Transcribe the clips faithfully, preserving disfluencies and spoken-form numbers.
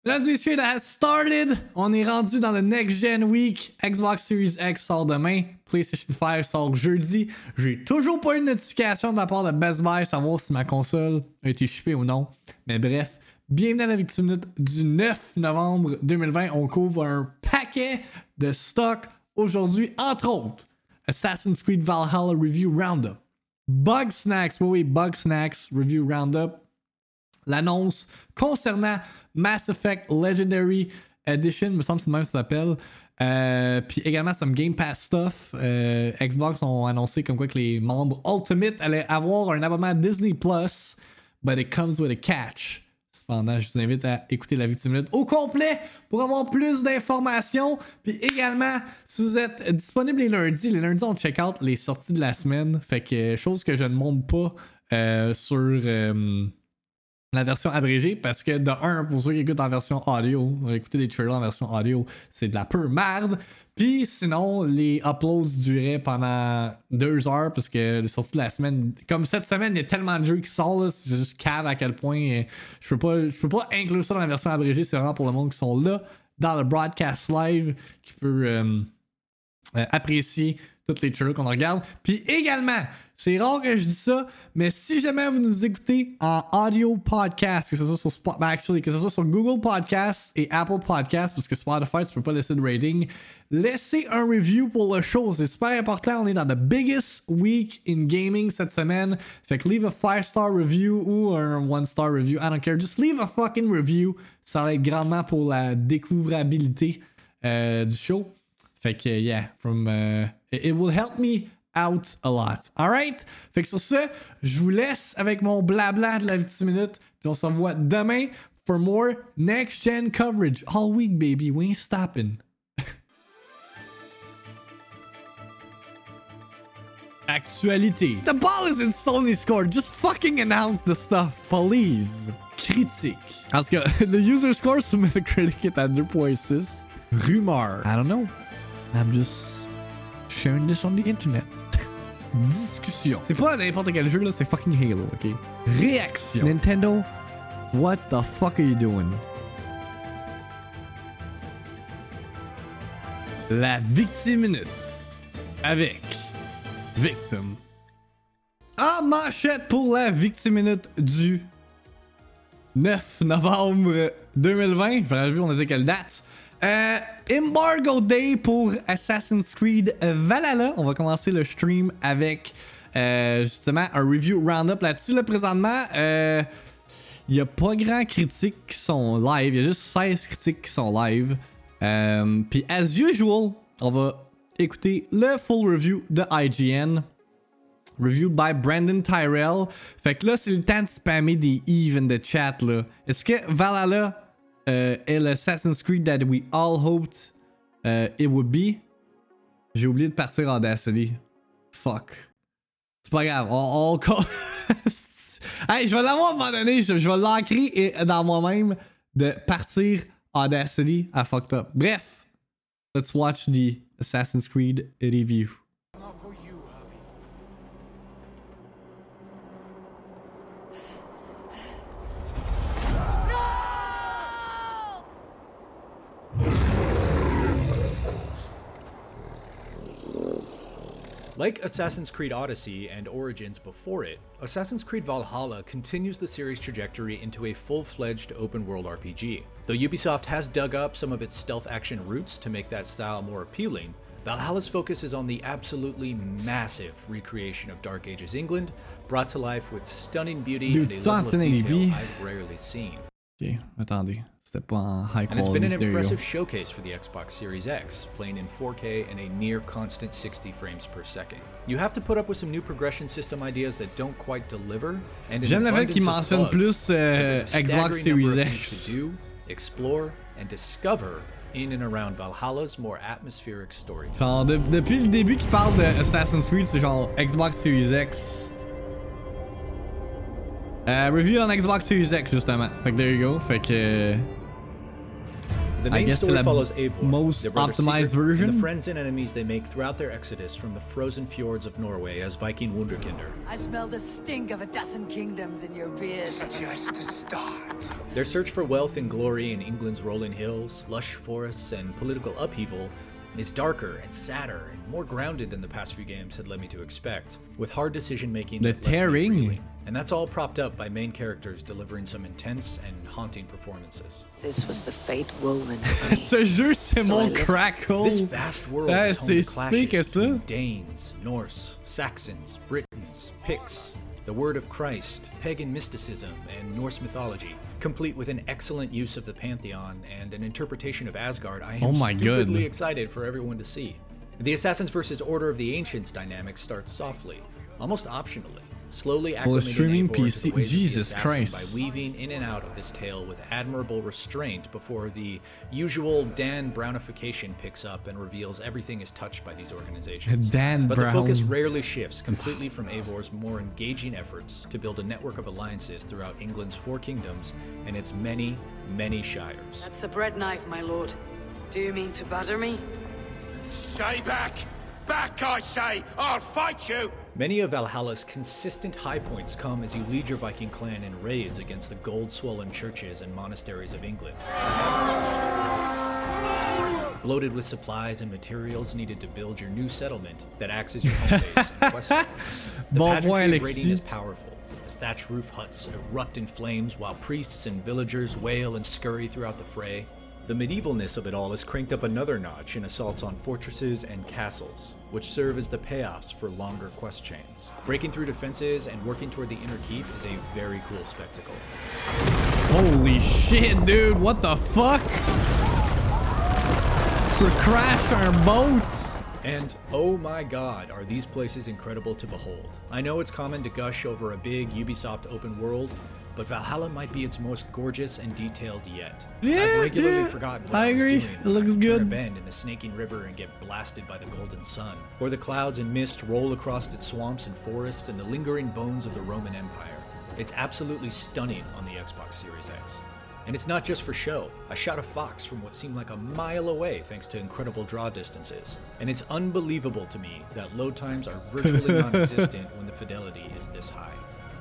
Mesdames et messieurs, that has started. On est rendu dans le Next Gen Week. Xbox Series X sort demain. PlayStation cinq sort jeudi. J'ai toujours pas eu de notification de la part de Best Buy savoir si ma console a été shippée ou non. Mais bref, bienvenue à la Victime Minute du neuf novembre deux mille vingt. On couvre un paquet de stock aujourd'hui, entre autres Assassin's Creed Valhalla Review Roundup, Bug Snacks, oui oui, Bug Snacks Review Roundup, l'annonce concernant Mass Effect Legendary Edition, me semble que c'est le même que ça s'appelle. Euh, puis également some Game Pass stuff. Euh, Xbox ont annoncé comme quoi que les membres Ultimate allaient avoir un abonnement Disney Plus, but it comes with a catch. Cependant, je vous invite à écouter la Victime Minute au complet pour avoir plus d'informations. Puis également, si vous êtes disponible les lundis, les lundis on check out les sorties de la semaine. Fait que chose que je ne montre pas euh, sur euh, la version abrégée parce que de un, pour ceux qui écoutent en version audio, écouter des trailers en version audio, c'est de la pure merde. Puis sinon, les uploads duraient pendant deux heures parce que les sorties de la semaine, comme cette semaine, il y a tellement de jeux qui sortent, là, c'est juste cave à quel point euh, je peux pas je peux pas inclure ça dans la version abrégée, c'est vraiment pour le monde qui sont là dans le broadcast live qui peut euh, euh, apprécier tous les trailers qu'on regarde. Puis également, c'est rare que je dis ça, mais si jamais vous nous écoutez en audio podcast, que ce soit sur Spot, ben actually, que ce soit sur Google Podcasts et Apple Podcasts, parce que Spotify, tu peux pas laisser de rating, laissez un review pour le show. C'est super important. On est dans the biggest week in gaming cette semaine. Fait que leave a five star review ou un one star review. I don't care. Just leave a fucking review. Ça va être grandement pour la découvrabilité euh, du show. Fait que, yeah, from, uh, it will help me out a lot. Alright? Fait que sur ce, je vous laisse avec mon blabla de la petite minute. Puis on se revoit demain for more next gen coverage. All week, baby. We ain't stopping. Actualité. The ball is in Sony's court. Just fucking announce the stuff, please. Critique. En tout cas, the user score sur Metacritic est à deux point six. Rumeur. I don't know. I'm just sharing this on the internet. Discussion. C'est pas n'importe quel jeu là, c'est fucking Halo, ok? Réaction. Nintendo, what the fuck are you doing? La Victime Minute avec Victim. En manchette pour la Victime Minute du neuf novembre deux mille vingt. Je vais on a dit quelle date. Euh, Embargo Day pour Assassin's Creed Valhalla. On va commencer le stream avec euh, justement un review roundup là-dessus. Là, présentement, il euh, n'y a pas grand critiques qui sont live. Il y a juste seize critiques qui sont live. Euh, Puis, as usual, on va écouter le full review de I G N. Reviewed by Brandon Tyrell. Fait que là, c'est le temps de spammer des Eve in the chat. Là. Est-ce que Valhalla Uh, et l'Assassin's Creed that we all hoped uh, it would be? J'ai oublié de partir en Audacity. Fuck. C'est pas grave. On, on... hey, je vais l'avoir à un moment donné. Je, je vais l'ancrer dans moi-même de partir en Audacity à fucked up. Bref. Let's watch the Assassin's Creed review. Like Assassin's Creed Odyssey and Origins before it, Assassin's Creed Valhalla continues the series' trajectory into a full-fledged open-world R P G. Though Ubisoft has dug up some of its stealth action roots to make that style more appealing, Valhalla's focus is on the absolutely massive recreation of Dark Ages England, brought to life with stunning beauty Dude, and a level of detail I've rarely seen. Ok, attendez. C'était pas en high quality. And it's been an impressive showcase for the Xbox Series X, playing in four K and a near constant sixty frames per second. You have to put up with some new progression system ideas that don't quite deliver, and j'aime le fait qu'il mentionne plus euh, Xbox Series X. To do, explore, and discover in and around Valhalla's more atmospheric story. Genre, de, depuis le début qu'il parle de Assassin's Creed, c'est genre Xbox Series X. Euh, review on Xbox Series X justement. Fait que there you go. Fait que. The I main guess story the follows Eivor, most their brother's optimized secret, version. and the friends and enemies they make throughout their exodus from the frozen fjords of Norway as Viking Wunderkinder. I smell the stink of a dozen kingdoms in your beard. Just to start. Their search for wealth and glory in England's rolling hills, lush forests, and political upheaval is darker and sadder and more grounded than the past few games had led me to expect, with hard decision-making The that left me tearing. reeling. And that's all propped up by main characters delivering some intense and haunting performances. This was the fate woven for me. Ce jeu, c'est So I mon live- crackle. This vast world Ah, is home c'est to si que clashes ça. between Danes, Norse, Saxons, Britons, Picts, the word of Christ, pagan mysticism, and Norse mythology, complete with an excellent use of the Pantheon and an interpretation of Asgard I am Oh my stupidly God. excited for everyone to see. The Assassins versus Order of the Ancients dynamic starts softly, almost optionally, slowly acclimating streaming Eivor P to C. the ways of the Jesus assassin Christ. by weaving in and out of this tale with admirable restraint before the usual Dan Brownification picks up and reveals everything is touched by these organizations. Dan but the focus Brown. rarely shifts completely from Eivor's more engaging efforts to build a network of alliances throughout England's four kingdoms and its many, many shires. That's a bread knife, my lord. Do you mean to butter me? Stay back! Back, I say! I'll fight you! Many of Valhalla's consistent high points come as you lead your Viking clan in raids against the gold-swollen churches and monasteries of England. Bloated with supplies and materials needed to build your new settlement that acts as your home base and quest line. The Bon pageantry point, of raiding Alexis. is powerful, as thatch roof huts erupt in flames while priests and villagers wail and scurry throughout the fray. The medievalness of it all is cranked up another notch in assaults on fortresses and castles, which serve as the payoffs for longer quest chains. Breaking through defenses and working toward the inner keep is a very cool spectacle. Holy shit, dude. What the fuck? We crashed our boats. And oh my god, are these places incredible to behold. I know it's common to gush over a big Ubisoft open world, but Valhalla might be its most gorgeous and detailed yet. Yeah, I've regularly yeah, forgotten what I I, agree. was doing. It when I looks would turn good. a bend in a snaking river and get blasted by the golden sun, or the clouds and mist roll across its swamps and forests and the lingering bones of the Roman Empire. It's absolutely stunning on the Xbox Series X. And it's not just for show. I shot a fox from what seemed like a mile away thanks to incredible draw distances. And it's unbelievable to me that load times are virtually non-existent when the fidelity is this high.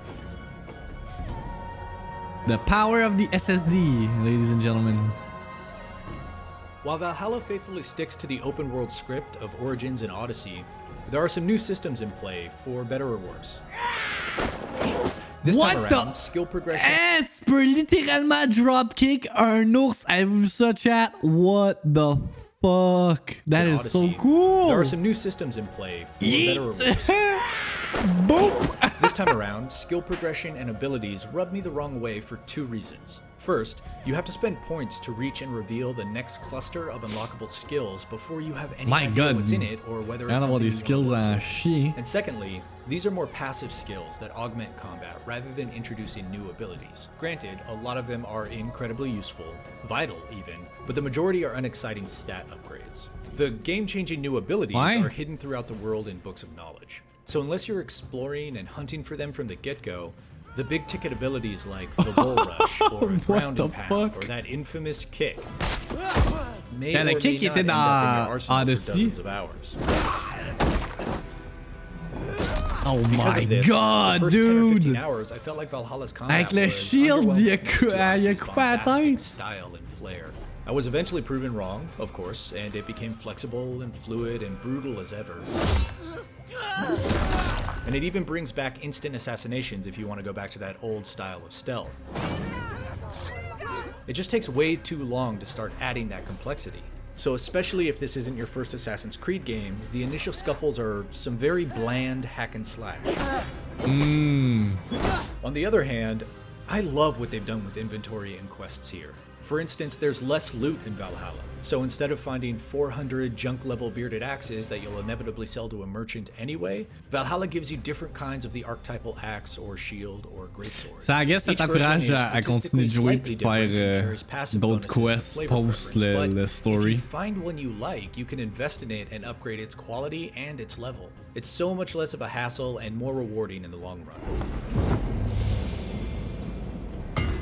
The power of the S S D, ladies and gentlemen. While Valhalla faithfully sticks to the open world script of Origins and Odyssey, there are some new systems in play, for better or worse. This What time the- around, skill progression... Eh, tu peux littéralement dropkick un ours. Avez-vous vu ça, chat? What the fuck? That in is so Odyssey, cool. There are some new systems in play, for better or Yeet. worse. Boop. This time around, skill progression and abilities rub me the wrong way for two reasons. First, you have to spend points to reach and reveal the next cluster of unlockable skills before you have any My idea God. what's in it or whether I it's don't know something these you skills want to are work chier. And secondly, these are more passive skills that augment combat rather than introducing new abilities. Granted, a lot of them are incredibly useful, vital even, but the majority are unexciting stat upgrades. The game-changing new abilities Why? are hidden throughout the world in books of knowledge. So unless you're exploring and hunting for them from the get-go, the big ticket abilities like the Bull Rush or What Ground the and Pound fuck? or that infamous kick may Yeah, or le may kick not était end up in dans your arsenal for Odyssey. dozens of hours. Oh Because my of this, god, the first ten or fifteen dude. hours, I felt like Valhalla's combat Avec le was shield, il y a underwhelming cou- next to il y a Odyssey's coupé la bombastic tête. style and flair. I was eventually proven wrong, of course, and it became flexible and fluid and brutal as ever. And it even brings back instant assassinations if you want to go back to that old style of stealth. It just takes way too long to start adding that complexity. So especially if this isn't your first Assassin's Creed game, the initial scuffles are some very bland hack and slash. Mm. On the other hand, I love what they've done with inventory and quests here. For instance, there's less loot in Valhalla, so instead of finding four hundred junk-level bearded axes that you'll inevitably sell to a merchant anyway, Valhalla gives you different kinds of the archetypal axe or shield or greatsword. Ça, I guess, ça Each version t'encourage is à, à continuer statistically de jouer slightly et de faire different and euh, carries passive d'autres bonuses with quests flavor post preference, le, but le if story. you find one you like, you can invest in it and upgrade its quality and its level. It's so much less of a hassle and more rewarding in the long run.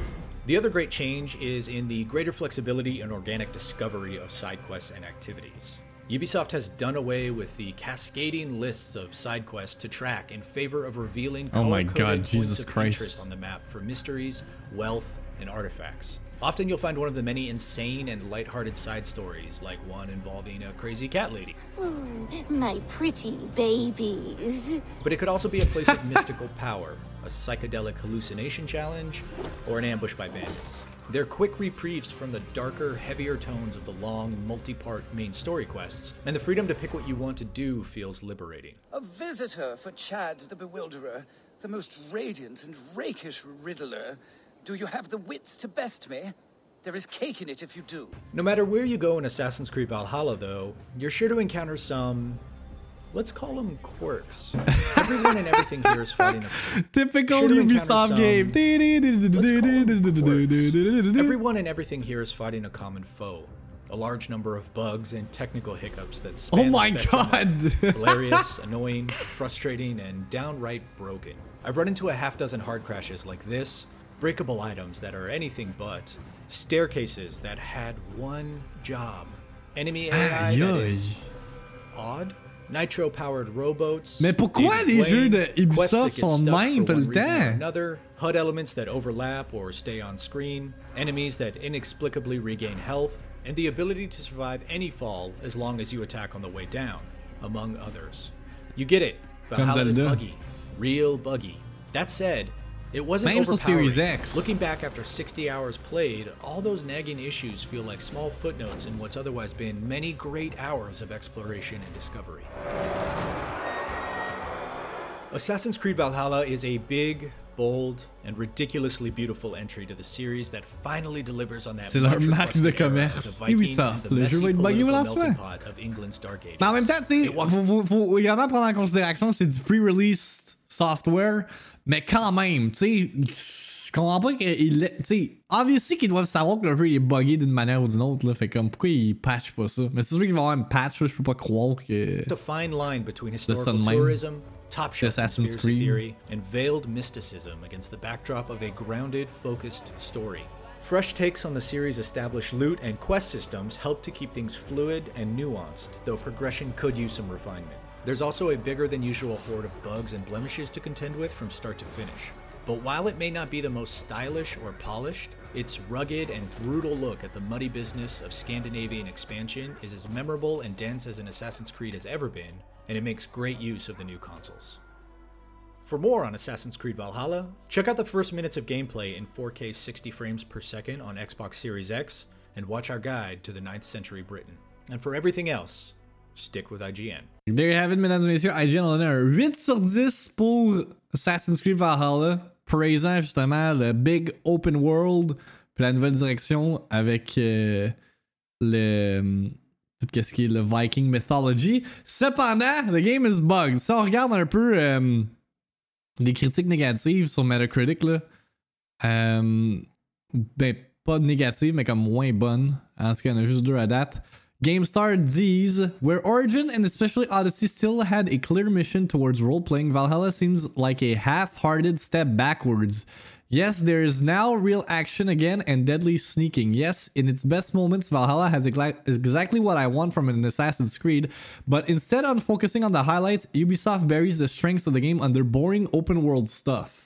The other great change is in the greater flexibility and organic discovery of side quests and activities. Ubisoft has done away with the cascading lists of side quests to track in favor of revealing Oh my color-coded God, points Jesus of Christ. interest on the map for mysteries, wealth, and artifacts. Often you'll find one of the many insane and lighthearted side stories, like one involving a crazy cat lady. Ooh, my pretty babies. But it could also be a place of mystical power, a psychedelic hallucination challenge, or an ambush by bandits. They're quick reprieves from the darker, heavier tones of the long, multi-part main story quests, and the freedom to pick what you want to do feels liberating. A visitor for Chad the Bewilderer, the most radiant and rakish riddler. Do you have the wits to best me? There is cake in it if you do. No matter where you go in Assassin's Creed Valhalla, though, you're sure to encounter some... let's call them quirks. Everyone and everything here is fighting a... Typical Sure to encounter Ubisoft some- game. Let's call them quirks. Everyone and everything here is fighting a common foe. A large number of bugs and technical hiccups that span Oh the my spectrum of God. hilarious, annoying, frustrating, and downright broken. I've run into a half dozen hard crashes like this, breakable items that are anything but, staircases that had one job, enemy A I that Aïe, is odd, nitro-powered rowboats. Mais pourquoi David les jeux Blaine, de quests that Ubisoft get sont stuck mêmes for tout one le reason or temps? Another, H U D elements that overlap or stay on screen, enemies that inexplicably regain health, and the ability to survive any fall as long as you attack on the way down, among others. You get it. Valhalla is Zelda. buggy. Real buggy. That said, it wasn't Même sur overpowering. Series X. Looking back after sixty hours played, all those nagging issues feel like small footnotes in what's otherwise been many great hours of exploration and discovery. Assassin's Creed Valhalla is a big, bold, and ridiculously beautiful entry to the series that finally delivers on that C'est leur much marque de requested era of commerce. the Viking Ubisoft, and the le jeu messy va être buggé au political lancement. melting pot of England's Dark Ages. Mais en même temps, tu sais, It walks- faut, faut, faut également prendre en considération que c'est du pre-release software, mais quand même, tu sais, je comprends pas qu'il. Tu sais, obviously qu'ils doivent savoir que le jeu il est buggé d'une manière ou d'une autre, là. Fait comme, pourquoi ils patchent pas ça? Mais c'est sûr qu'il va y avoir une patch, là, je peux pas croire que. It's a fine line between ça historical de même. tourism, top-shelf Assassin's conspiracy Creed. theory, and veiled mysticism against the backdrop of a grounded, focused story. Fresh takes on the series' established loot and quest systems help to keep things fluid and nuanced, though progression could use some refinement. There's also a bigger than usual horde of bugs and blemishes to contend with from start to finish. But while it may not be the most stylish or polished, its rugged and brutal look at the muddy business of Scandinavian expansion is as memorable and dense as an Assassin's Creed has ever been, and it makes great use of the new consoles. For more on Assassin's Creed Valhalla, check out the first minutes of gameplay in four K sixty frames per second on Xbox Series X, and watch our guide to the ninth century Britain. And for everything else, stick with I G N. There you have it, mesdames et messieurs. I G N en a un huit sur dix pour Assassin's Creed Valhalla, praisant justement le big open world, puis la nouvelle direction avec euh, le. Tout ce qui est le Viking mythology. Cependant, the game is bugged. Si on regarde un peu euh, les critiques négatives sur Metacritic, là, euh, ben pas négatives, mais comme moins bonnes. En tout cas, il y en a juste deux à date. GameStar disent, where Origin and especially Odyssey still had a clear mission towards role-playing, Valhalla seems like a half-hearted step backwards. Yes, there is now real action again and deadly sneaking. Yes, in its best moments, Valhalla has egla- exactly what I want from an Assassin's Creed, but instead of focusing on the highlights, Ubisoft buries the strengths of the game under boring open-world stuff.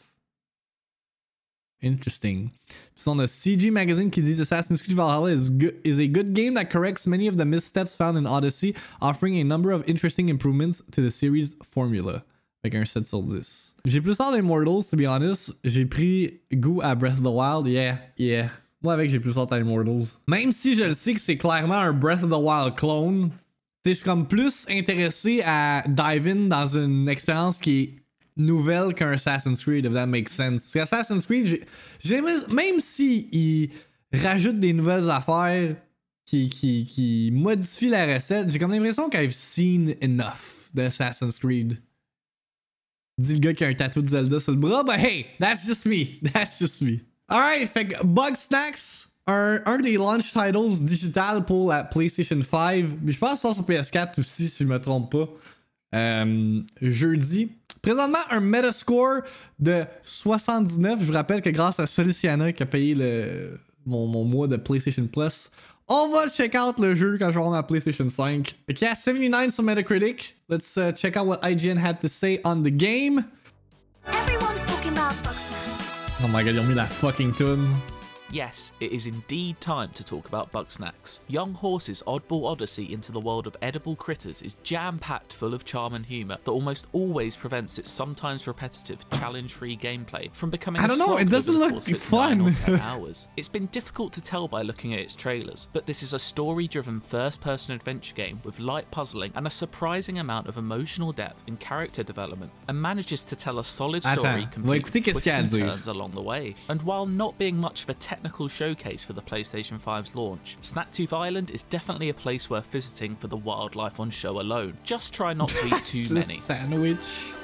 Interesting. Puis on a C G Magazine qui dit Assassin's Creed Valhalla is, good, is a good game that corrects many of the missteps found in Odyssey, offering a number of interesting improvements to the series formula. Avec un sept sur dix. J'ai plus hâte d'Immortals, to be honest. J'ai pris goût à Breath of the Wild. Yeah, yeah. Moi, avec, j'ai plus hâte à Immortals. Même si je le sais que c'est clairement un Breath of the Wild clone, tu sais, je suis comme plus intéressé à dive in dans une expérience qui est nouvelle qu'un Assassin's Creed, if that makes sense. Parce qu'Assassin's Creed, j'ai, j'ai, même si il rajoute des nouvelles affaires qui, qui, qui modifient la recette, j'ai comme l'impression qu'I've seen enough d'Assassin's Creed. Dit le gars qui a un tatou de Zelda sur le bras, but hey, that's just me. That's just me. Alright, fait que Bugsnax, un, un des launch titles digital pour la PlayStation five, mais je pense que ça sur P S quatre aussi, si je me trompe pas. Euh, jeudi. Présentement, un Metascore de soixante-dix-neuf. Je vous rappelle que grâce à Soliciana qui a payé le, mon, mon mois de PlayStation Plus, on va check out le jeu quand je vais avoir ma PlayStation cinq. Fait qu'il y a soixante-dix-neuf sur Metacritic. Let's uh, check out what I G N had to say on the game. Everyone's talking about Bugsnax. Oh my god, ils ont mis la fucking tune. Yes, it is indeed time to talk about Bugsnax. Young Horse's oddball odyssey into the world of edible critters is jam-packed full of charm and humour that almost always prevents its sometimes repetitive, challenge-free gameplay from becoming I a don't know, slog it doesn't over the look course of its fun. nine or ten hours. It's been difficult to tell by looking at its trailers, but this is a story-driven first-person adventure game with light puzzling and a surprising amount of emotional depth in character development, and manages to tell a solid story Attends, on va complete écouter with qu'est-ce twists qu'il y a à and dire. turns along the way. And while not being much of a technical showcase for the PlayStation five's launch, Snacktooth Island is definitely a place worth visiting for the wildlife on show alone. Just try not to eat too The many. sandwich.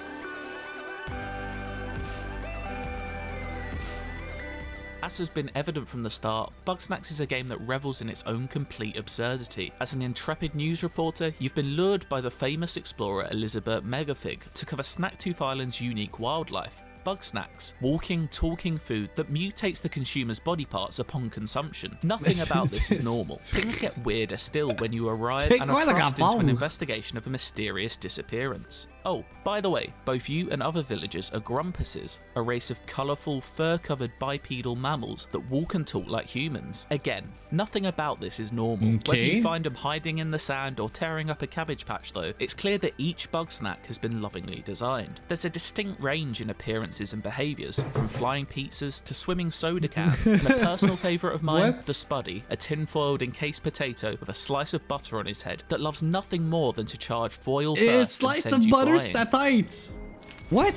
As has been evident from the start, Bugsnax is a game that revels in its own complete absurdity. As an intrepid news reporter, you've been lured by the famous explorer Elizabeth Megafig to cover Snacktooth Island's unique wildlife. Bugsnax, walking, talking food that mutates the consumer's body parts upon consumption. Nothing about this is normal. Things get weirder still when you arrive C'est and quoi are le thrust into an rapport? investigation of a mysterious disappearance. Oh, by the way, both you and other villagers are grumpuses, a race of colourful, fur-covered bipedal mammals that walk and talk like humans. Again, nothing about this is normal. Okay. Whether you find them hiding in the sand or tearing up a cabbage patch though, it's clear that each Bugsnax has been lovingly designed. There's a distinct range in appearances and behaviours, from flying pizzas to swimming soda cans, and a personal favourite of mine, What? the Spuddy, a tin-foiled encased potato with a slice of butter on his head that loves nothing more than to charge foil A first and slice send of you butter flying. sa tête. What?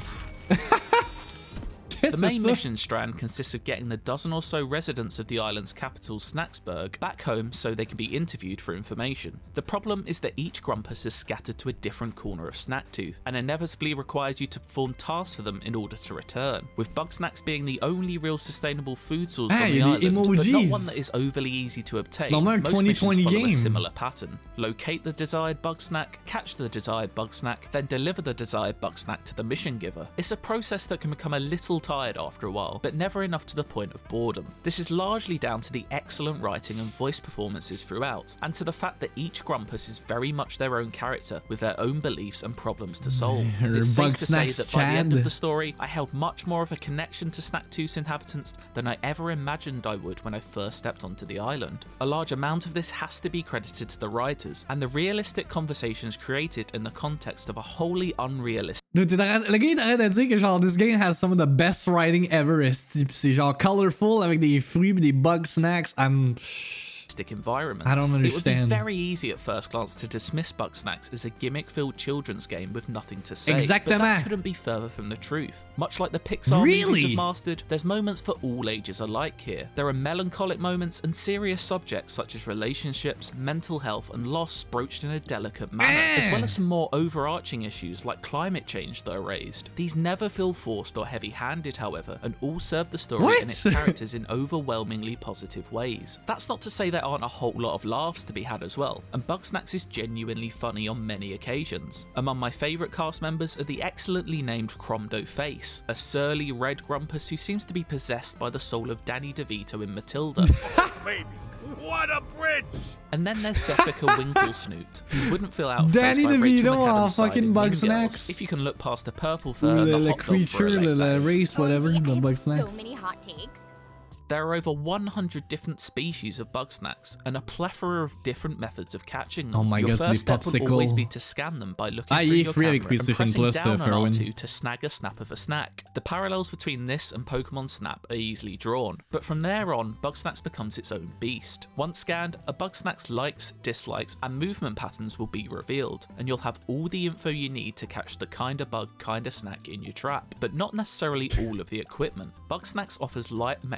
The Qu'est-ce que main c'est ça? mission strand consists of getting the dozen or so residents of the island's capital, Snacksburg, back home so they can be interviewed for information. The problem is that each Grumpus is scattered to a different corner of Snacktooth, and inevitably requires you to perform tasks for them in order to return, with Bugsnax being the only real sustainable food source Ah, on the il y a des island, but not emojis. one that is overly easy to obtain. normal un Most twenty missions twenty follow a game. similar pattern. Locate the desired Bugsnax, catch the desired Bugsnax, then deliver the desired Bugsnax to the mission giver. It's a process that can become a little tired after a while, but never enough to the point of boredom. This is largely down to the excellent writing and voice performances throughout, and to the fact that each Grumpus is very much their own character with their own beliefs and problems to solve. Her It's safe to say Bugsnax that by the end Chad. of the story, I held much more of a connection to Snacktooth's inhabitants than I ever imagined I would when I first stepped onto the island. A large amount of this has to be credited to the writers, and the realistic conversations created in the context of a wholly unrealistic Dude, t'es en train- le gars il est en train de dire que genre this game has some of the best writing ever, esti. Pis c'est genre colorful avec des fruits pis des bug snacks. I'm. environment. I don't It would be understand. very easy at first glance to dismiss Bugsnax as a gimmick-filled children's game with nothing to say, but Exactement. that couldn't be further from the truth. Much like the Pixar Really? movies have mastered, there's moments for all ages alike here. There are melancholic moments and serious subjects such as relationships, mental health, and loss broached in a delicate manner, Eh. as well as some more overarching issues like climate change that are raised. These never feel forced or heavy-handed, however, and all serve the story What? and its characters in overwhelmingly positive ways. That's not to say there aren't a whole lot of laughs to be had as well, and Bugsnax is genuinely funny on many occasions. Among my favourite cast members are the excellently named Cromdo Face, a surly red Grumpus who seems to be possessed by the soul of Danny DeVito in Matilda. Baby, what a bridge! And then there's Beffica Winklesnoot, who wouldn't feel out of place Danny by Rachel DeVito en McAdams' side fucking in Mean Bugsnax. Girls, if you can look past the purple Ou fur and le, the le hot dog for a creature, leg, le, that le is. race, whatever, O M G, the I have Bugsnax. so many hot takes. There are over one hundred different species of Bugsnax and a plethora of different methods of catching them. Oh my your God, c'est first des step would always popsicles. be to scan them by looking Ah, through il est your free avec camera and PlayStation pressing Plus, down uh, on R Farwin. two to snag a snap of a snack. The parallels between this and Pokemon Snap are easily drawn, but from there on, Bugsnax becomes its own beast. Once scanned, a Bugsnax's likes, dislikes, and movement patterns will be revealed, and you'll have all the info you need to catch the kinda bug, kinda snack in your trap, but not necessarily all of the equipment. Bugsnax offers light Metroidvania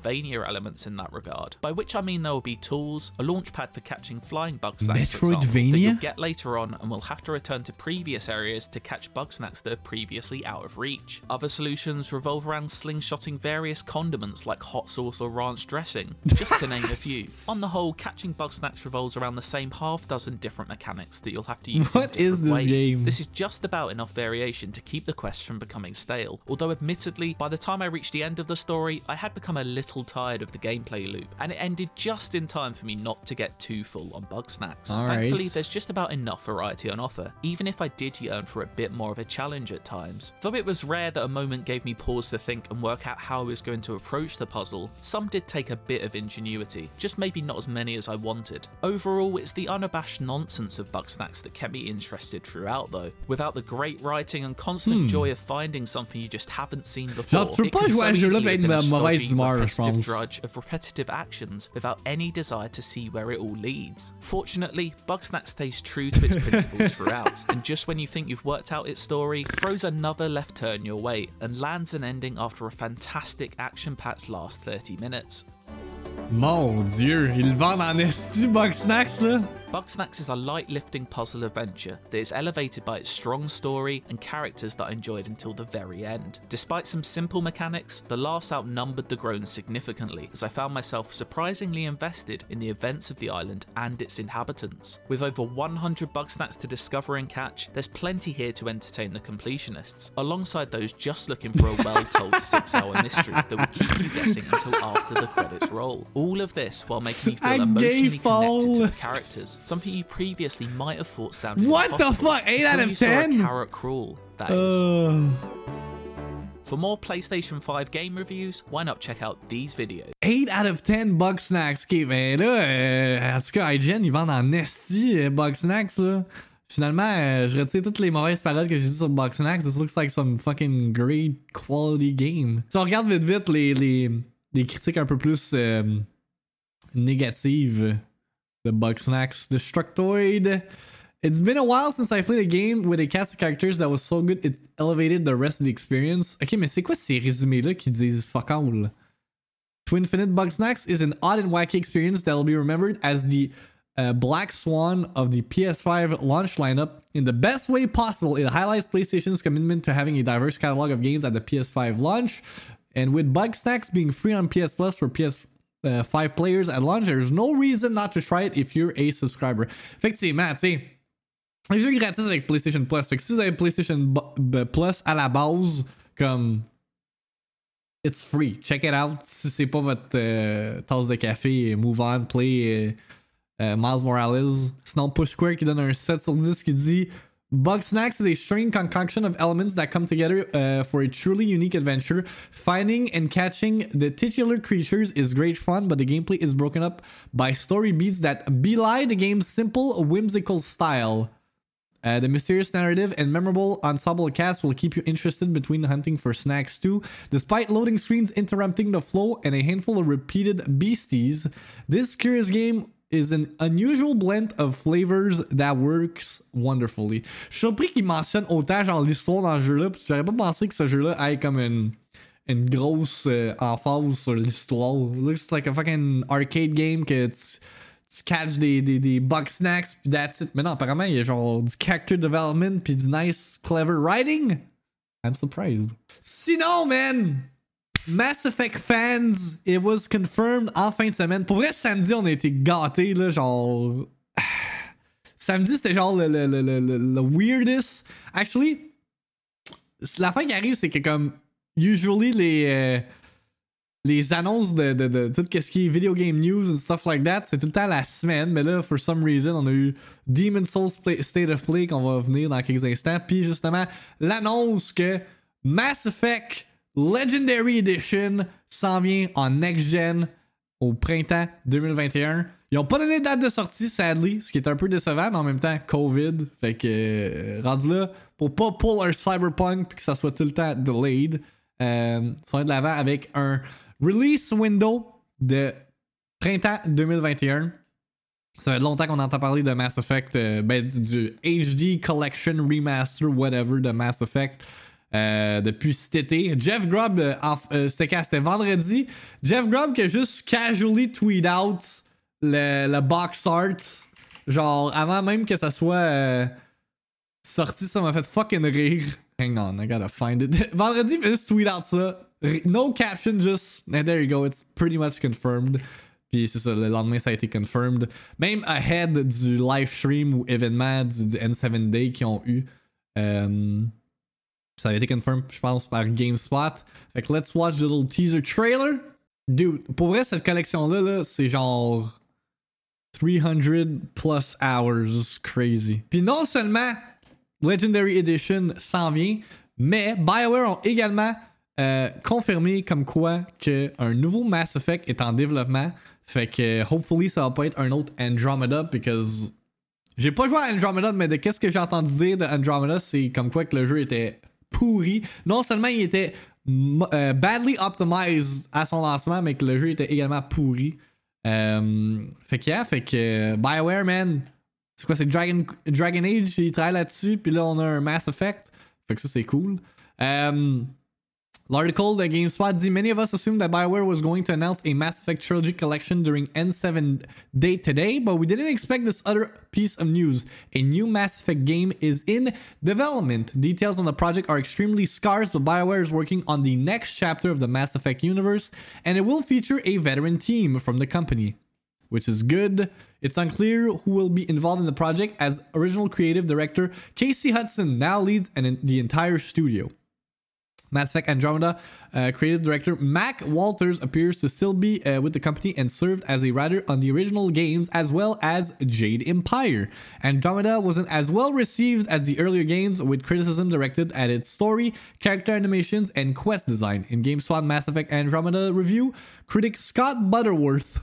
Metroidvania elements in that regard, by which I mean there will be tools, a launchpad for catching flying Bugsnax, for example, that you'll get later on and will have to return to previous areas to catch Bugsnax that are previously out of reach. Other solutions revolve around slingshotting various condiments like hot sauce or ranch dressing, just to name a few. On the whole, catching Bugsnax revolves around the same half dozen different mechanics that you'll have to use what in different is this ways. game? This is just about enough variation to keep the quest from becoming stale, although admittedly, by the time I reached the end of the story, I had become a little tired of the gameplay loop, and it ended just in time for me not to get too full on Bugsnax. All Thankfully, right. there's just about enough variety on offer, even if I did yearn for a bit more of a challenge at times. Though it was rare that a moment gave me pause to think and work out how I was going to approach the puzzle, some did take a bit of ingenuity, just maybe not as many as I wanted. Overall, it's the unabashed nonsense of Bugsnax that kept me interested throughout though. Without the great writing and constant Hmm. joy of finding something you just haven't seen before, Genre, tu peux it pas can jouer so à ce jeu-là easily avec have been a une mauvaise stodgy, humeur, je repetitive pense. drudge of repetitive actions without any desire to see where it all leads. Fortunately, Bugsnax stays true to its principles throughout, and just when you think you've worked out its story, throws another left turn your way and lands an ending after a fantastic action-packed last thirty minutes. Mon Dieu, ils le vendent en esti, Bugsnax, là. Bugsnax is a light-lifting puzzle adventure that is elevated by its strong story and characters that I enjoyed until the very end. Despite some simple mechanics, the laughs outnumbered the groans significantly, as I found myself surprisingly invested in the events of the island and its inhabitants. With over one hundred Bugsnax to discover and catch, there's plenty here to entertain the completionists, alongside those just looking for a well-told six-hour mystery that will keep you guessing until after the credits roll. All of this while making me feel A emotionally gay connected to the fall. characters, something you previously might have thought sounded What the impossible fuck? eight out until of you saw ten? a carrot crawl, that is. Uh, For more PlayStation five game reviews, why not check out these videos? eight out of ten Bugsnax. Ok, ben là, euh, en tout cas, I G N, ils vendent en esti euh, Bugsnax, là. Finalement, euh, je retire toutes les mauvaises paroles que j'ai dit sur Bugsnax. This looks like some fucking great quality game. Si on regarde vite vite les, les, les critiques un peu plus euh, négatives de Bugsnax, Destructoid. It's been a while since I played a game with a cast of characters that was so good it elevated the rest of the experience. Ok, mais c'est quoi ces résumés-là qui disent fuck all? To Infinite, Bugsnax is an odd and wacky experience that will be remembered as the uh, Black Swan of the P S five launch lineup. In the best way possible, it highlights PlayStation's commitment to having a diverse catalog of games at the P S five launch. And with Bugsnax being free on P S Plus for P S five players at launch, there's no reason not to try it if you're a subscriber. Effectivement, tu sais, les jeux gratis avec PlayStation Plus. Fait que si vous avez PlayStation B- Plus à la base, comme it's free. Check it out. Si c'est pas votre euh, tasse de café, move on, play euh, euh, Miles Morales. Sinon, Push Square qui donne un sept sur dix qui dit Bugsnax is a strange concoction of elements that come together uh, for a truly unique adventure. Finding and catching the titular creatures is great fun, but the gameplay is broken up by story beats that belie the game's simple, whimsical style. Uh, the mysterious narrative and memorable ensemble cast will keep you interested between hunting for snacks too. Despite loading screens interrupting the flow and a handful of repeated beasties, this curious game is an unusual blend of flavors that works wonderfully. Je suis surpris qu'il mentionne autant genre l'histoire dans le jeu-là, parce que j'aurais pas pensé que ce jeu-là ait comme une, une grosse euh, emphase sur l'histoire. Looks like a fucking arcade game que tu, tu catch des, des, des Bugsnax pis that's it. Mais non, apparemment, il y a genre du character development pis du nice, clever writing. I'm surprised. Sinon, man! Mass Effect fans, it was confirmed en fin de semaine. Pour vrai, samedi, on a été gâtés, là, genre... Samedi, c'était genre le, le, le, le, le weirdest. Actually, la fin qui arrive, c'est que comme... Usually, les... Euh, les annonces de, de, de, de tout ce qui est video game news and stuff like that, c'est tout le temps la semaine. Mais là, for some reason, on a eu Demon's Souls Play, State of Play qu'on va venir dans quelques instants. Puis justement, l'annonce que Mass Effect Legendary Edition s'en vient en next-gen au printemps deux mille vingt et un. Ils ont pas donné de date de sortie, sadly, ce qui est un peu décevant, mais en même temps, COVID. Fait que, euh, rendu là, pour pas pull un Cyberpunk puis que ça soit tout le temps delayed, euh, ils sont de l'avant avec un release window de printemps deux mille vingt et un. Ça fait longtemps qu'on entend parler de Mass Effect, euh, ben, du H D Collection Remaster, whatever, de Mass Effect. euh, depuis cet été. Jeff Grubb, euh, en, euh, c'était quand? C'était vendredi. Jeff Grubb qui a juste casually tweet out le, le box art. Genre, avant même que ça soit euh, sorti, ça m'a fait fucking rire. Hang on, I gotta find it. Vendredi, il fait juste tweet out ça. No caption, just. And there you go, it's pretty much confirmed. Puis c'est ça, le lendemain, ça a été confirmed. Même ahead du live stream ou événement du, du N sept Day qu'ils ont eu. Euh, ça avait été confirmed, je pense, par GameSpot. Fait que let's watch the little teaser trailer. Dude, pour vrai, cette collection-là, là, c'est genre three hundred plus hours. Crazy. Puis non seulement Legendary Edition s'en vient, mais BioWare ont également euh, confirmé comme quoi qu'un nouveau Mass Effect est en développement. Fait que, hopefully, ça va pas être un autre Andromeda, because j'ai pas joué à Andromeda, mais de qu'est-ce que j'ai entendu dire de Andromeda, c'est comme quoi que le jeu était pourri. Non seulement il était euh, badly optimized à son lancement, mais que le jeu était également pourri. Euh, fait que, yeah, fait que BioWare, man, c'est quoi, c'est Dragon, Dragon Age, il travaille là-dessus, puis là, on a un Mass Effect. Fait que ça, c'est cool. Um, L'article de GameSpot dit many of us assumed that BioWare was going to announce a Mass Effect Trilogy collection during N seven Day today, but we didn't expect this other piece of news. A new Mass Effect game is in development. Details on the project are extremely scarce, but BioWare is working on the next chapter of the Mass Effect universe, and it will feature a veteran team from the company, which is good. It's unclear who will be involved in the project, as original creative director Casey Hudson now leads an, the entire studio. Mass Effect Andromeda uh, creative director Mac Walters appears to still be uh, with the company and served as a writer on the original games as well as Jade Empire. Andromeda wasn't as well received as the earlier games, with criticism directed at its story, character animations, and quest design. In GameSpot Mass Effect Andromeda review, critic Scott Butterworth,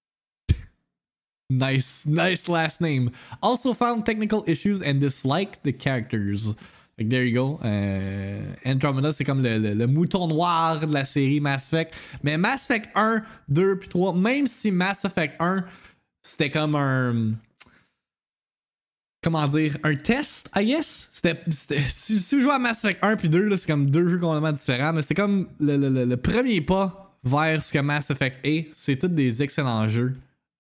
nice, nice last name, also found technical issues and disliked the characters. Like, there you go. Euh, Andromeda, c'est comme le, le, le mouton noir de la série Mass Effect. Mais Mass Effect one, two, puis three, même si Mass Effect one, c'était comme un... Comment dire? Un test, I guess? C'était... c'était si, si je joue à Mass Effect one puis two, là, c'est comme deux jeux complètement différents, mais c'était comme le, le, le, le premier pas vers ce que Mass Effect est. C'est tous des excellents jeux.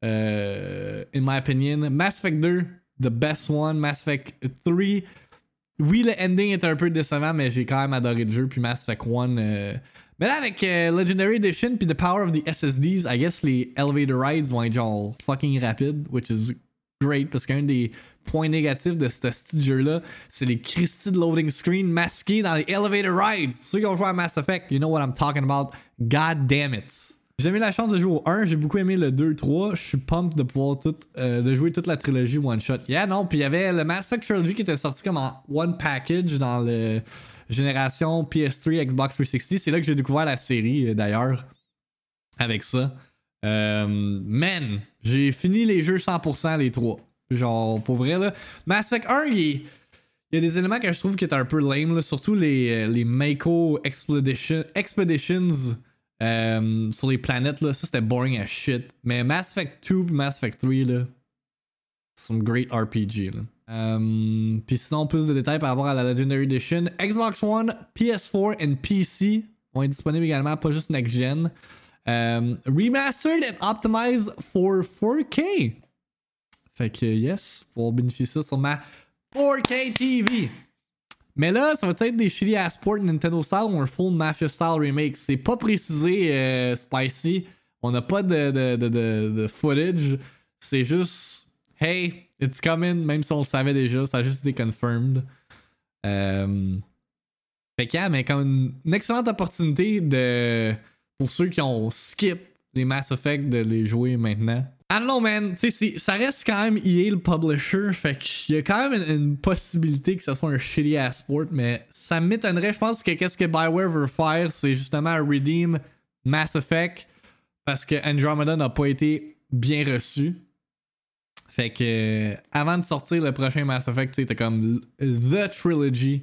Euh, in my opinion. Mass Effect two, the best one. Mass Effect three... Oui, le ending est un peu décevant, mais j'ai quand même adoré le jeu. Puis Mass Effect one. Euh... Mais là, avec euh, Legendary Edition, puis the power of the S S Ds, I guess les elevator rides vont être genre fucking rapides, which is great, parce qu'un des points négatifs de ce petit jeu-là, c'est les Christy de loading screen masqués dans les elevator rides. Pour ceux qui ont joué à Mass Effect, you know what I'm talking about. God damn it. J'ai jamais eu la chance de jouer au one, j'ai beaucoup aimé le two, three. Je suis pumped de pouvoir tout, euh, de jouer toute la trilogie one shot. Yeah, non, puis il y avait le Mass Effect Trilogy qui était sorti comme en one package dans le génération P S three, Xbox three sixty. C'est là que j'ai découvert la série d'ailleurs avec ça. Euh, man, j'ai fini les jeux cent pour cent les trois. Genre, pour vrai, là. Mass Effect one, il, il y a des éléments que je trouve qui étaient un peu lame, là, surtout les, les Mako Expedition, Expeditions. Euh, sur les planètes, là, ça c'était boring as shit. Mais Mass Effect two et Mass Effect three, là, some great R P G. Là. Euh, Puis sinon, plus de détails par rapport à la Legendary Edition. Xbox One, P S four et P C vont être disponibles également, pas juste Next Gen. Euh, remastered and optimized for four K. Fait que yes, pour bénéficier sur ma four K T V. Mais là, ça va être des shitty ass ports Nintendo style ou un full Mafia style remake. C'est pas précisé, euh, Spicy. On n'a pas de, de, de, de, de footage. C'est juste, hey, it's coming, même si on le savait déjà. Ça a juste été confirmed. Euh... Fait que, yeah, mais comme une, une excellente opportunité de, pour ceux qui ont skip les Mass Effect de les jouer maintenant. I don't know, man. Tu sais, ça reste quand même E A le publisher. Fait qu'il y a quand même une, une possibilité que ça soit un shitty ass sport. Mais ça m'étonnerait. Je pense que qu'est-ce que BioWare veut faire, c'est justement redeem Mass Effect. Parce que Andromeda n'a pas été bien reçu. Fait que avant de sortir le prochain Mass Effect, tu sais, t'as comme The Trilogy.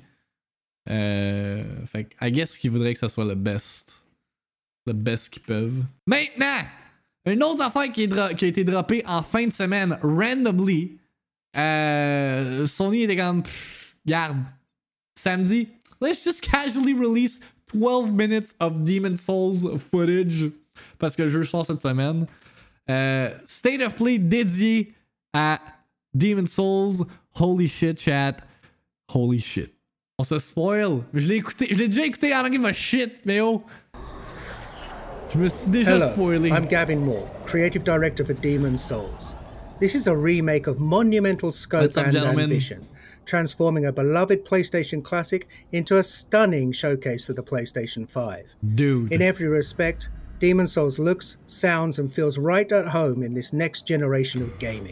Euh, fait que I guess qu'ils voudraient que ça soit le best. Le best qu'ils peuvent. Maintenant! Une autre affaire qui, est dro- qui a été droppée en fin de semaine, randomly. Euh, Sony était comme, pff, regarde, samedi, let's just casually release twelve minutes of Demon's Souls footage parce que le jeu sort cette semaine. Euh, State of Play dédié à Demon's Souls. Holy shit, chat. Holy shit. On se spoil. Je l'ai écouté, je l'ai déjà écouté. I don't give a shit, mais oh. Je me suis déjà Hello, spoilé. I'm Gavin Moore, Creative Director for Demon's Souls. This is a remake of monumental scope What's up, and gentlemen? ambition, transforming a beloved PlayStation classic into a stunning showcase for the PlayStation five. Dude. In every respect, Demon's Souls looks, sounds, and feels right at home in this next generation of gaming.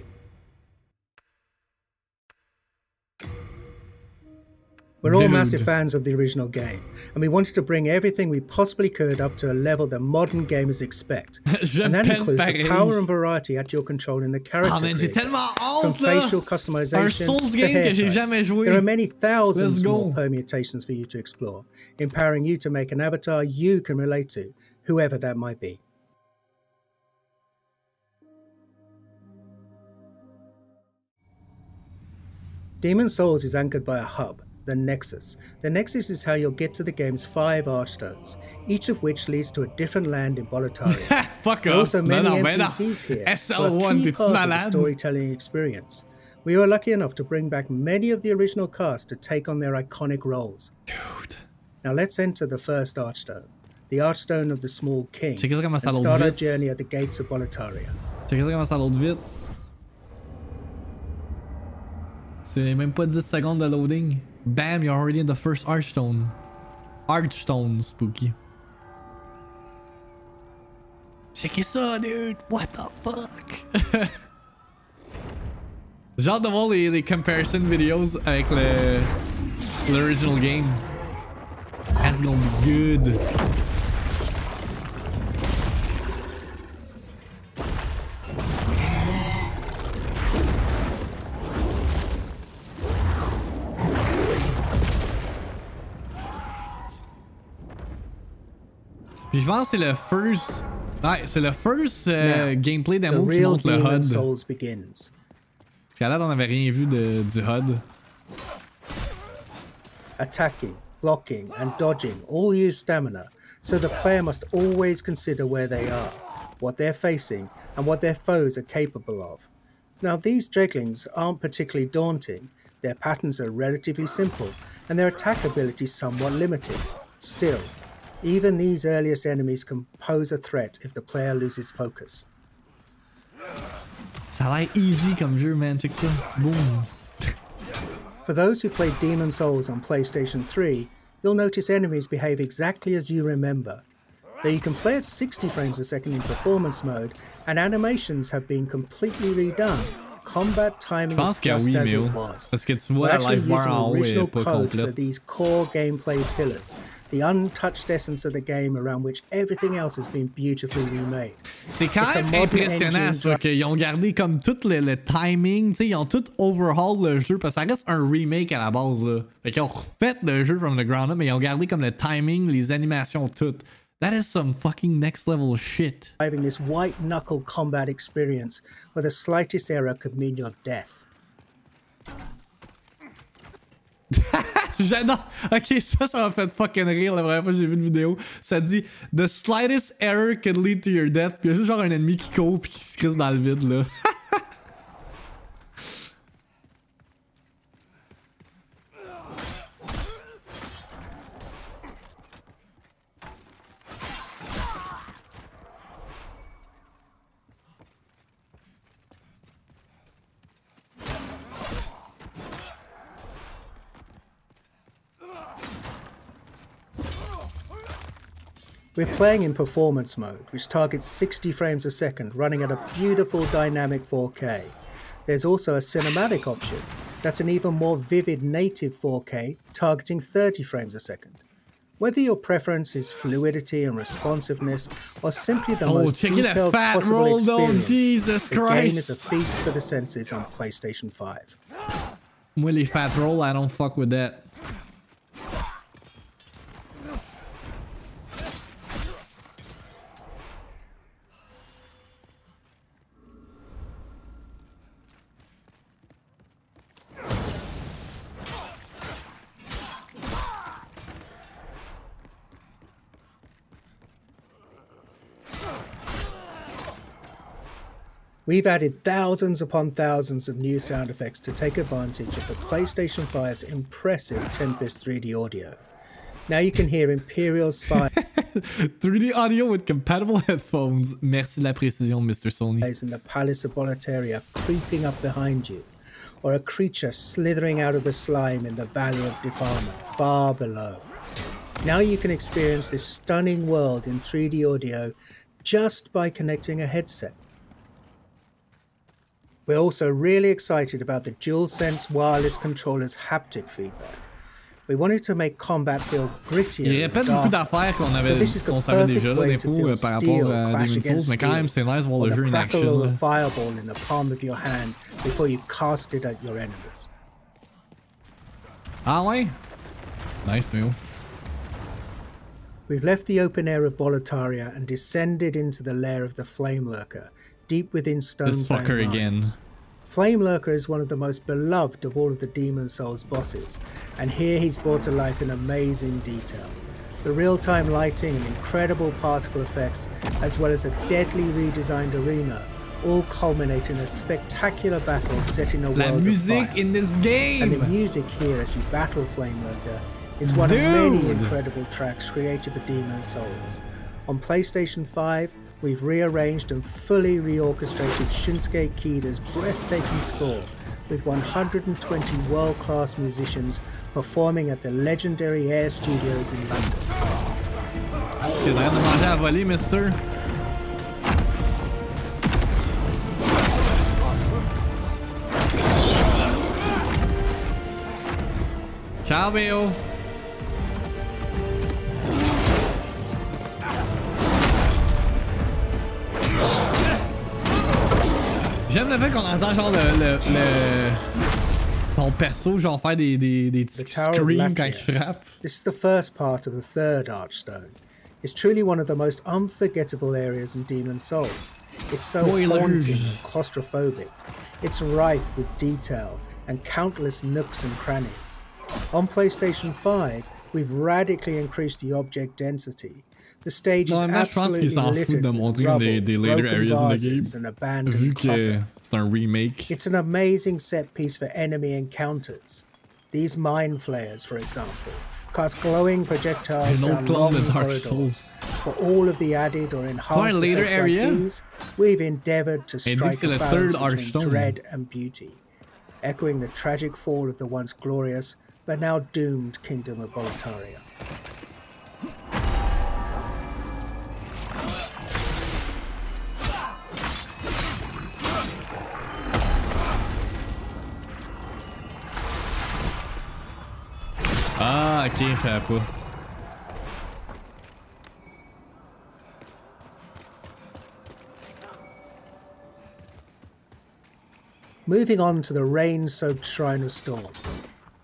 We're all Dude. massive fans of the original game, and we wanted to bring everything we possibly could up to a level that modern gamers expect. And that includes the power and variety at your control in the character Ah, mais j'ai creator. tellement From hâte, là! facial Un customization Souls to game hair que j'ai types. jamais joué. There are many thousands Let's go. more permutations for you to explore, empowering you to make an avatar you can relate to, whoever that might be. Demon's Souls is anchored by a hub, the Nexus. The Nexus is how you'll get to the game's five Archstones, each of which leads to a different land in Boletaria. Fuck There are off. also Mais many non, mais non. N P Cs here, S who L are a one, key t'es-tu part of the malade? storytelling experience. We were lucky enough to bring back many of the original cast to take on their iconic roles. Dude. Now let's enter the first Archstone, the Archstone of the Small King, Check ça comment and ça load start our vite. journey at the gates of Boletaria. Check ça comment ça load vite. C'est même pas dix secondes de loading. Bam, you're already in the first Archstone. Archstone, spooky. Check ça, dude. What the fuck? J'ai hâte de voir les, les comparison videos avec le l'original game. That's gonna be good. Puis je pense que c'est le first. Ouais, c'est le first euh, Now, gameplay The demo qui real montre le H U D. Demon's Souls begins. Parce qu'à là, on n'avait rien vu de, du H U D. Attacking, blocking, and dodging all use stamina, so the player must always consider where they are, what they're facing, and what their foes are capable of. Now, these Dreglings aren't particularly daunting, their patterns are relatively simple, and their attack ability somewhat limited. Still, even these earliest enemies can pose a threat if the player loses focus. Ça a l'air easy comme jeu, man. Check ça. Boom. For those who played Demon's Souls on PlayStation three, you'll notice enemies behave exactly as you remember. Though you can play at sixty frames a second in performance mode, and animations have been completely redone, combat timing Je is pense que just oui, as mais it oh. was. Parce que tu We're vois la actually life bar using en haut est original pas code for complète. these core gameplay pillars, the untouched essence of the game around which everything else has been beautifully remade. C'est quand It's a même modern impressionnant engine ça, qu'ils ont gardé comme tout le, le timing, tu sais, ils ont tout overhaul le jeu, parce que ça reste un remake à la base, là. Fait qu'ils ont refait le jeu from the ground up, mais ils ont gardé comme le timing, les animations, tout. That is some fucking next level shit. Having this white knuckle combat experience where the slightest error could mean your death. J'adore. Ok, ça, ça m'a fait fucking rire la première fois que j'ai vu une vidéo. Ça dit The slightest error could lead to your death. Puis il y a juste genre un ennemi qui court puis qui se crisse dans le vide là. We're playing in performance mode, which targets sixty frames a second, running at a beautiful dynamic four K. There's also a cinematic option. That's an even more vivid native four K, targeting thirty frames a second. Whether your preference is fluidity and responsiveness, or simply the Oh, most check it, that detailed fat possible roll down, experience, Jesus the game Christ. is a feast for the senses on PlayStation five. Moi les fat roll, I don't fuck with that. We've added thousands upon thousands of new sound effects to take advantage of the PlayStation five's impressive Tempest three D audio. Now you can hear Imperial spies three D audio with compatible headphones. Merci de la précision, Mister Sony. in the Palace of Boletaria creeping up behind you, or a creature slithering out of the slime in the Valley of Defilement far below. Now you can experience this stunning world in three D audio just by connecting a headset. We're also really excited about the DualSense wireless controller's haptic feedback. We wanted to make combat feel grittier. Il répète beaucoup d'affaires qu'on avait, so qu'on savait déjà là, des fois par rapport à Demon's Souls, mais quand même c'est nice de voir le jeu in action. Or the fireball in the palm of your hand before you cast it at your enemies. Ah ouais? Nice move. We've left the open air of Boletaria and descended into the lair of the Flame Lurker, deep within Stonefang This fucker Mines. again. Flame Lurker is one of the most beloved of all of the Demon's Souls bosses, and here he's brought to life in amazing detail. The real-time lighting and incredible particle effects, as well as a deadly redesigned arena, all culminate in a spectacular battle set in a La world musique of fire. in this game! And the music here as you battle Flame Lurker is one Dude. of many incredible tracks created for Demon's Souls. On PlayStation five, we've rearranged and fully reorchestrated Shinsuke Kida's breathtaking score with one hundred twenty world-class musicians performing at the legendary Air Studios in London. T'es en train de manger à voler, mister. Ciao, Béo. J'aime le fait qu'on entend genre le, le, le... ton perso genre faire des, des, des petits screams quand il frappe. This is the first part of the third Archstone. It's truly one of the most unforgettable areas in Demon's Souls. It's so Spoilers. haunting and claustrophobic. It's rife with detail and countless nooks and crannies. On PlayStation five, we've radically increased the object density. The stage is Non, mais je pense qu'ils absolutely s'en foutent littered de with montrer rubble, des, des later broken areas in the vases game. and abandoned Vu que clutter. c'est un remake. It's an amazing set piece for enemy encounters. These mind flayers, for example, cast glowing projectiles An down old clone long of Dark corridors. Souls. For all of the added or enhanced a later effects area? like these, we've endeavoured to Et dit que strike c'est a le balance third between Archstone. dread and beauty, echoing the tragic fall of the once glorious but now doomed Kingdom of Boletaria. Ah, ok, je savais pas. Moving on to the rain-soaked Shrine of Storms.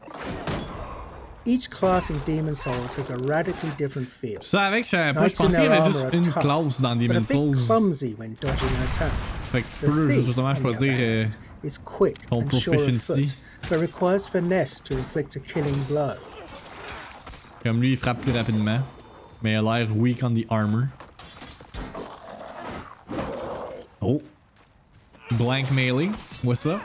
Each class in Demon's Souls has a radically different feel. Je savais que je savais pas, je Knights in pensais qu'il y their avait armor juste are une tough, classe dans but a Demon's bit Souls. clumsy when dodging an attack. Fait que tu The peux thief, justement on the other choisir euh, hand, is quick ton and sure of proficiency. foot, but requires finesse to inflict a killing blow. Comme lui, il frappe plus rapidement. Mais il a l'air weak on the armor. Oh. Blank melee. What's up?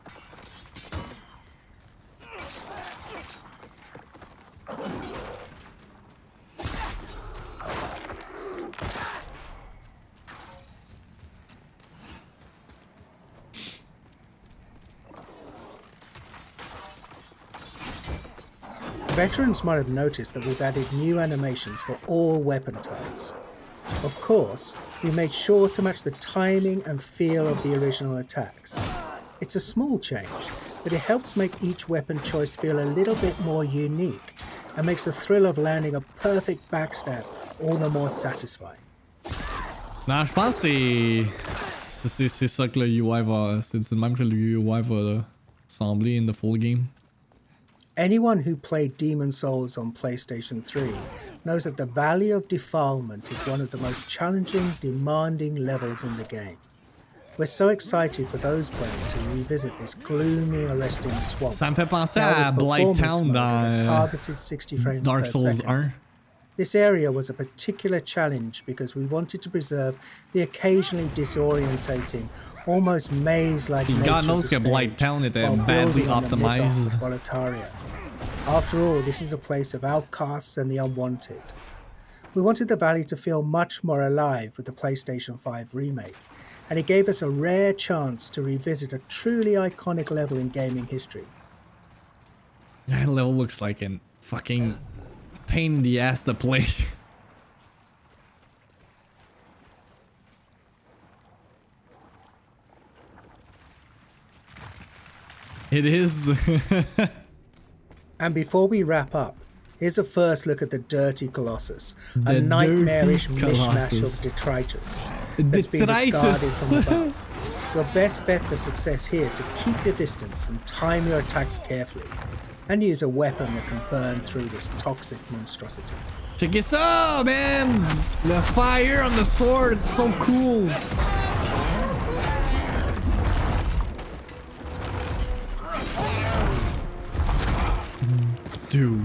Veterans might have noticed that we've added new animations for all weapon types. Of course, we made sure to match the timing and feel of the original attacks. It's a small change, but it helps make each weapon choice feel a little bit more unique and makes the thrill of landing a perfect backstab all the more satisfying. Non, je pense que c'est c'est c'est ça que le U I va, c'est de même que le U I va sembler in the full game. Anyone who played Demon's Souls on PlayStation three knows that the Valley of Defilement is one of the most challenging, demanding levels in the game. We're so excited for those players to revisit this gloomy, arresting swamp. Ça me fait penser now à with Blight performance Town mode dans at a euh, targeted sixty frames Dark per Souls second. one. This area was a particular challenge because we wanted to preserve the occasionally disorientating almost maze-like nature God knows of the que Blight stage, Town était while badly building on the mythos optimized. of Boletaria. After all, this is a place of outcasts and the unwanted. We wanted the valley to feel much more alive with the PlayStation five remake, and it gave us a rare chance to revisit a truly iconic level in gaming history. That level looks like a fucking pain in the ass to play. It is. And before we wrap up, here's a first look at the Dirty Colossus, The a nightmarish Dirty mishmash Colossus. of detritus that's been Detritus. discarded from above. Your best bet for success here is to keep your distance and time your attacks carefully, and use a weapon that can burn through this toxic monstrosity. Check this out, man! The fire on the sword, it's so cool. Dude.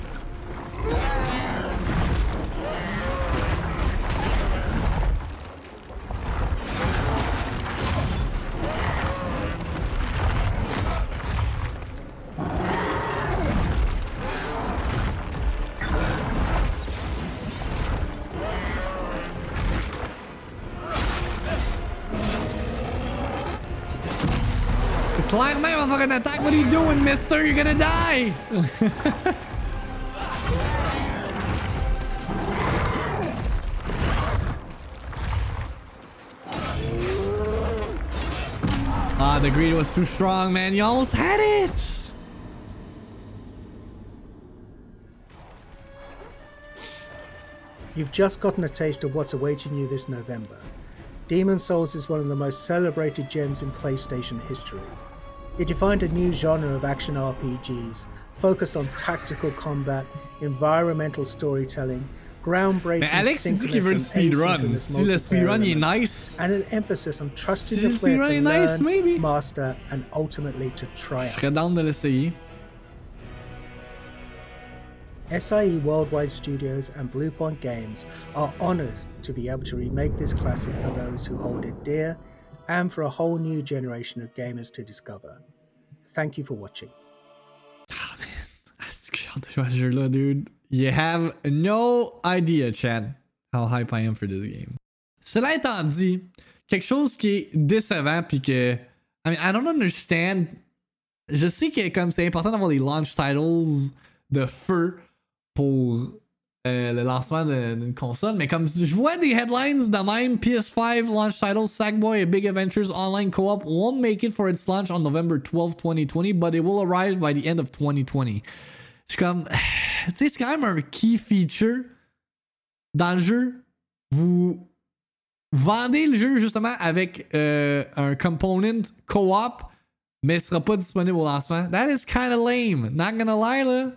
Climb my motherfucking attack. What are you doing, mister? You're gonna die. Ah, the greed was too strong, man. You almost had it. You've just gotten a taste of what's awaiting you this November. Demon's Souls is one of the most celebrated gems in PlayStation history. It defined a new genre of action R P Gs, focused on tactical combat, environmental storytelling, groundbreaking Mais Alex, il dit qu'il veut le synchronous and speedrun. asynchronous Si le multiplayer speedrun il est elements, nice, and an emphasis on trusting Si the le player speedrun to est nice, learn, maybe. master, and ultimately to je triumph. serais down de l'essayer. S I E Worldwide Studios and Bluepoint Games are honoured to be able to remake this classic for those who hold it dear, and for a whole new generation of gamers to discover. Thank you for watching. Ah, man. Est-ce que j'ai hâte de jouer à ce jeu-là, dude? You have no idea, Chad, how hype I am for this game. Cela étant dit, quelque chose qui est décevant, puis que... I mean, I don't understand. Je sais que comme c'est important d'avoir les launch titles de feu pour euh, le lancement d'une console, mais comme je vois des headlines de même, P S five launch titles, Sackboy and Big Adventures Online Co-op won't make it for its launch on November twelfth, twenty twenty, but it will arrive by the end of twenty twenty. Je suis comme, tu sais, c'est quand même un key feature dans le jeu. Vous vendez le jeu justement avec euh, un component co-op, mais ce sera pas disponible au lancement. That is kind of lame. Not gonna lie, là.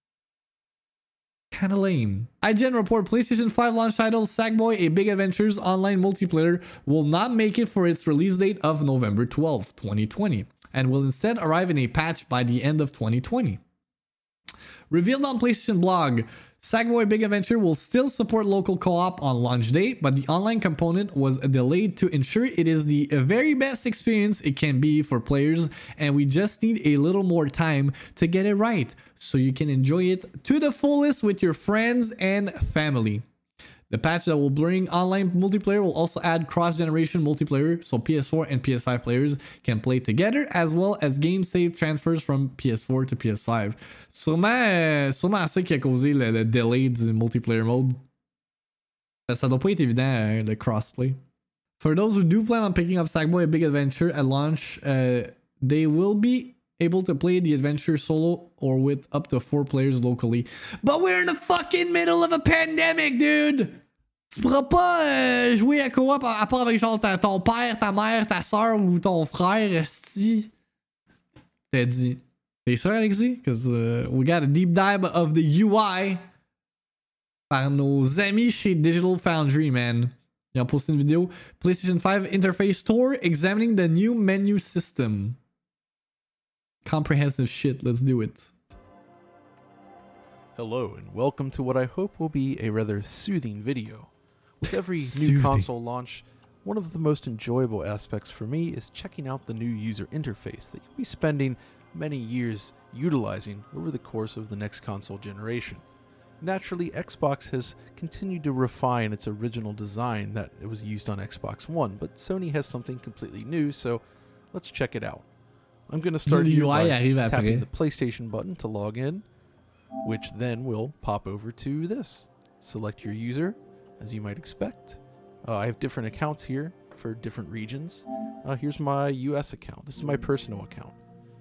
Kind of lame. I G N report PlayStation five launch title Sackboy: A Big Adventures Online Multiplayer will not make it for its release date of November twelfth, twenty twenty, and will instead arrive in a patch by the end of twenty twenty. Revealed on PlayStation blog, Sackboy: Big Adventure will still support local co-op on launch date, but the online component was delayed to ensure it is the very best experience it can be for players, and we just need a little more time to get it right, so you can enjoy it to the fullest with your friends and family. The patch that will bring online multiplayer will also add cross-generation multiplayer, so P S four and P S five players can play together, as well as game save transfers from P S four to P S five. Sûrement, euh, sûrement ça qui a causé le, le delay du multiplayer mode. Ça doit pas être évident, euh, le crossplay. For those who do plan on picking up Sackboy: A Big Adventure at launch, uh, they will be able to play the adventure solo or with up to four players locally. But we're in the fucking middle of a pandemic, dude! Tu pourras pas euh, jouer à co-op à part avec genre ta, ton père, ta mère, ta soeur ou ton frère, esti. T'as dit. T'es sûr, Alexis? Because uh, we got a deep dive of the U I par nos amis chez Digital Foundry, man. Ils ont posté une vidéo. PlayStation five Interface Tour examining the new menu system. Comprehensive shit, let's do it. Hello and welcome to what I hope will be a rather soothing video. With every Soothing. new console launch, one of the most enjoyable aspects for me is checking out the new user interface that you'll be spending many years utilizing over the course of the next console generation. Naturally, Xbox has continued to refine its original design that it was used on Xbox One, but Sony has something completely new, so let's check it out. I'm going to start here by tapping the PlayStation button to log in, which then will pop over to this. Select your user, as you might expect. Uh, I have different accounts here for different regions. Uh, here's my U S account. This is my personal account.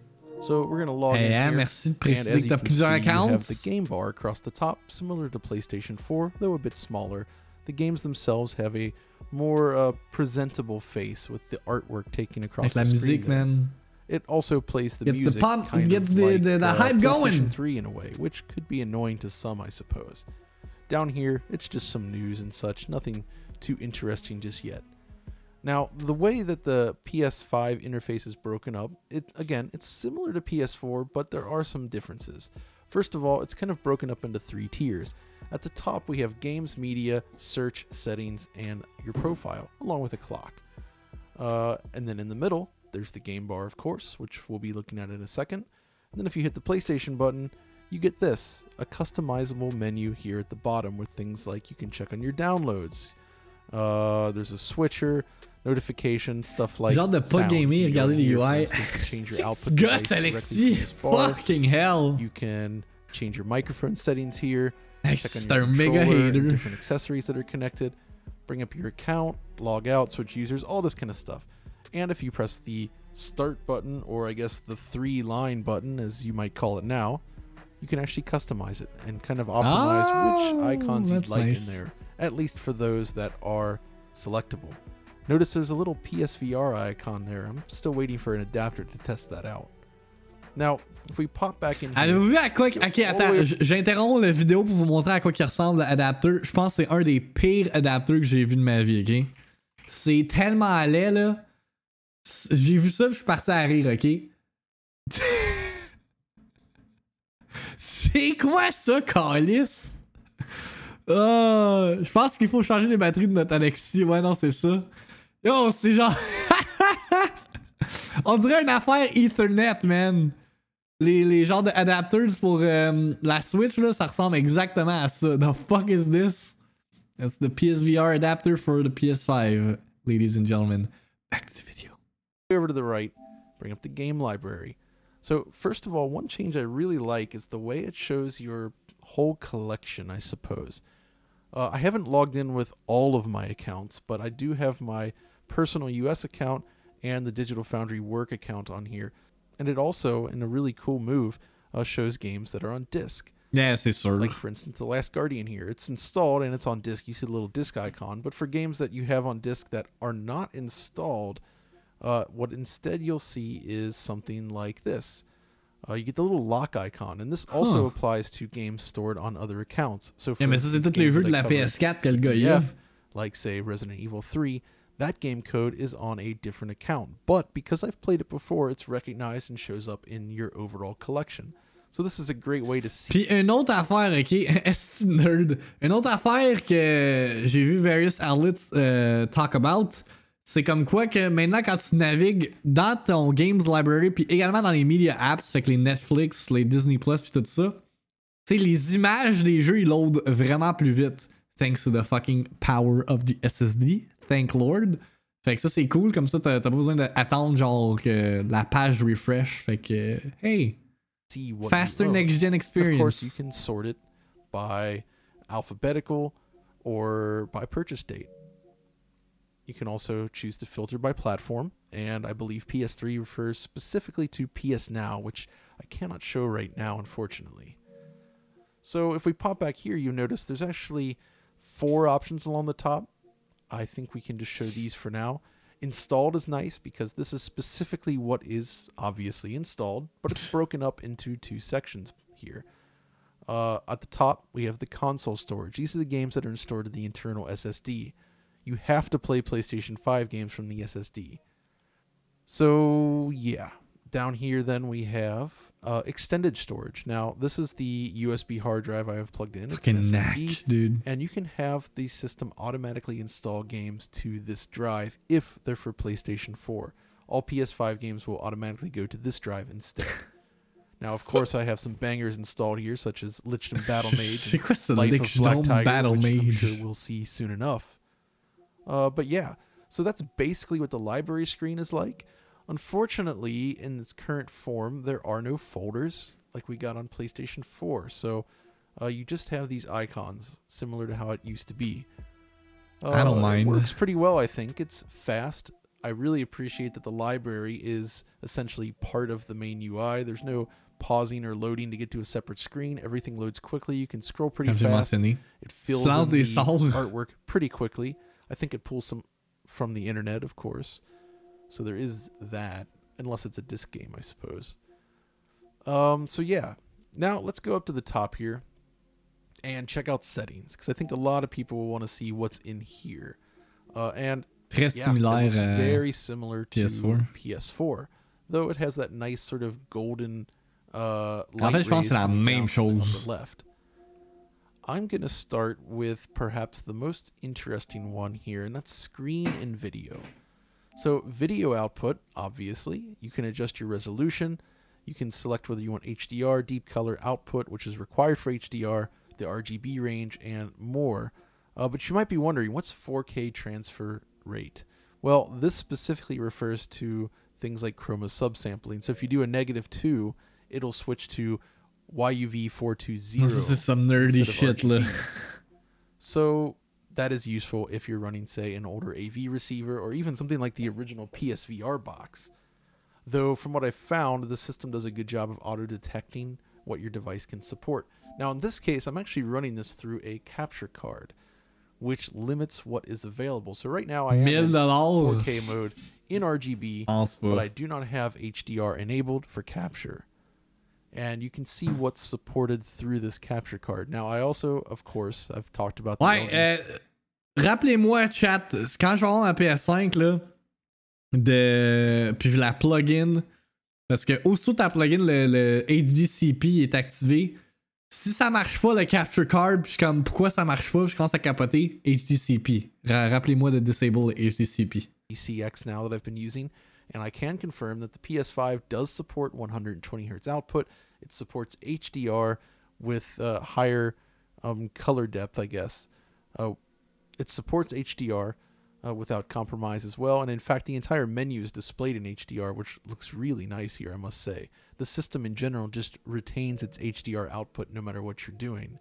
So we're going to log hey, in hein, here, merci de and préciser as que you t'as can see, plusieurs you have accounts. the game bar across the top, similar to PlayStation four, though a bit smaller. The games themselves have a more uh, presentable face with the artwork taken across Avec the la screen. musique, there. man. It also plays the Gets the music pump- kind gets of the- like the- the uh, hype PlayStation going. three in a way, which could be annoying to some, I suppose. Down here, it's just some news and such, nothing too interesting just yet. Now, the way that the P S five interface is broken up, it again, it's similar to P S four, but there are some differences. First of all, it's kind of broken up into three tiers. At the top, we have games, media, search, settings, and your profile, along with a clock. Uh, and then in the middle, there's the game bar, of course, which we'll be looking at in a second. And then if you hit the PlayStation button, you get this, a customizable menu here at the bottom with things like you can check on your downloads. Uh, there's a switcher, notification, stuff like Genre de pas sound. gamer, You can go regardez les here, U I. for instance, to change your output Gosse, device directly Alexis. from this bar. Fucking hell. You can change your microphone settings here. Hey, Check on c'est your un méga controller and hater. different accessories that are connected. Bring up your account, log out, switch users, all this kind of stuff. And if you press the start button, or I guess the three line button, as you might call it now, you can actually customize it and kind of optimize Oh, which icons you'd that's like nice. in there, at least for those that are selectable. Notice there's a little P S V R icon there. I'm still waiting for an adapter to test that out. Now, if we pop back in here, Avez-vous vu à quoi... let's go Ok, all the attends, way- j- j'interromps la vidéo pour vous montrer à quoi il ressemble l'adapteur. Je pense que c'est un des pires adapteurs que j'ai vu de ma vie, ok? C'est tellement laid, là. C- J'ai vu ça, puis je suis parti à rire, ok? C'est quoi ça, calice? Ah, je pense qu'il faut changer les batteries de notre Alexis. Ouais, non, c'est ça. Yo, c'est genre... On dirait une affaire Ethernet, man. Les, les genres de adapters pour euh, la Switch, là, ça ressemble exactement à ça. The fuck is this? That's the P S V R adapter for the P S five, ladies and gentlemen. Back to the video. over to the right, bring up the game library. So first of all, one change I really like is the way it shows your whole collection, I suppose. Uh, I haven't logged in with all of my accounts, but I do have my personal U S account and the Digital Foundry work account on here. And it also, in a really cool move, uh, shows games that are on disc. Yeah, c'est sûr. Like, for instance, The Last Guardian here. It's installed and it's on disc. You see the little disc icon. But for games that you have on disc that are not installed, uh, what instead you'll see is something like this. Uh, you get the little lock icon. And this also Huh. applies to games stored on other accounts. So for Yeah, mais ça, c'est instance, tous les games jeux that de I la cover P S four que le gars in y a. P D F, like, say, Resident Evil three, that game code is on a different account. But because I've played it before, it's recognized and shows up in your overall collection. So this is a great way to see. Puis une autre affaire, ok, est nerd. Une autre affaire que j'ai vu various outlets euh, talk about, c'est comme quoi que maintenant quand tu navigues dans ton games library, puis également dans les media apps, fait que les Netflix, les Disney Plus, puis tout ça, tu sais, les images des jeux ils loadent vraiment plus vite, thanks to the fucking power of the S S D. Thank Lord. Fait que ça c'est cool, comme ça t'as, t'as pas besoin d'attendre genre que la page refresh. Fait que hey. See what Faster you own. next gen experience. Of course, you can sort it by alphabetical or by purchase date. You can also choose to filter by platform, and I believe P S three refers specifically to P S Now, which I cannot show right now, unfortunately. So if we pop back here, you notice there's actually four options along the top. I think we can just show these for now. Installed is nice because this is specifically what is obviously installed, but it's broken up into two sections here. Uh, at the top, we have the console storage. These are the games that are stored in the internal S S D. You have to play PlayStation five games from the S S D. So, yeah. Down here, then, we have Uh, extended storage. Now, this is the U S B hard drive I have plugged in. Fucking it's an knack, S S D, dude. And you can have the system automatically install games to this drive if they're for PlayStation four. All P S five games will automatically go to this drive instead. Now, of course, I have some bangers installed here, such as Lichdom Battle Mage and Life of Black Tiger, Battle which I'm Mage. sure we'll see soon enough. Uh, but yeah, so that's basically what the library screen is like. Unfortunately, in its current form, there are no folders like we got on PlayStation four. So uh, you just have these icons, similar to how it used to be. Uh, I don't mind. It works pretty well, I think. It's fast. I really appreciate that the library is essentially part of the main U I. There's no pausing or loading to get to a separate screen. Everything loads quickly. You can scroll pretty fast. It fills in the artwork pretty quickly. I think it pulls some from the internet, of course. So there is that, unless it's a disc game, I suppose. Um, so yeah, now let's go up to the top here and check out settings, because I think a lot of people will want to see what's in here. Uh, and Très yeah, similaire, it looks uh, very similar to P S four. P S four, though it has that nice sort of golden uh, En light fait, je pense que rays c'est la coming même down from chose. the left. I'm going to start with perhaps the most interesting one here, and that's screen and video. So video output, obviously, you can adjust your resolution. You can select whether you want H D R, deep color output, which is required for H D R, the R G B range, and more. Uh, but you might be wondering, what's four K transfer rate? Well, this specifically refers to things like chroma subsampling. So if you do a negative two, it'll switch to Y U V four twenty. This is some nerdy shit. Là. So that is useful if you're running, say, an older A V receiver or even something like the original P S V R box. Though, from what I've found, the system does a good job of auto-detecting what your device can support. Now, in this case, I'm actually running this through a capture card, which limits what is available. So right now, I am in four K mode in R G B, but I do not have H D R enabled for capture. And you can see what's supported through this capture card. Now, I also, of course, I've talked about the Ouais, euh, rappelez-moi, chat, quand je vais avoir ma P S cinq, là, de... puis je la plug-in, parce que aussitôt que ta plug-in, le, le H D C P est activé, si ça marche pas, le capture card, puis je suis comme, pourquoi ça marche pas, puis je commence à capoter, H D C P. Ra- rappelez-moi de disable le H D C P. C X now that I've been using, and I can confirm that the P S five does support one hundred twenty hertz output. It supports H D R with uh, higher um, color depth, I guess. Uh, it supports H D R uh, without compromise as well, and in fact, the entire menu is displayed in H D R, which looks really nice here, I must say. The system in general just retains its H D R output no matter what you're doing.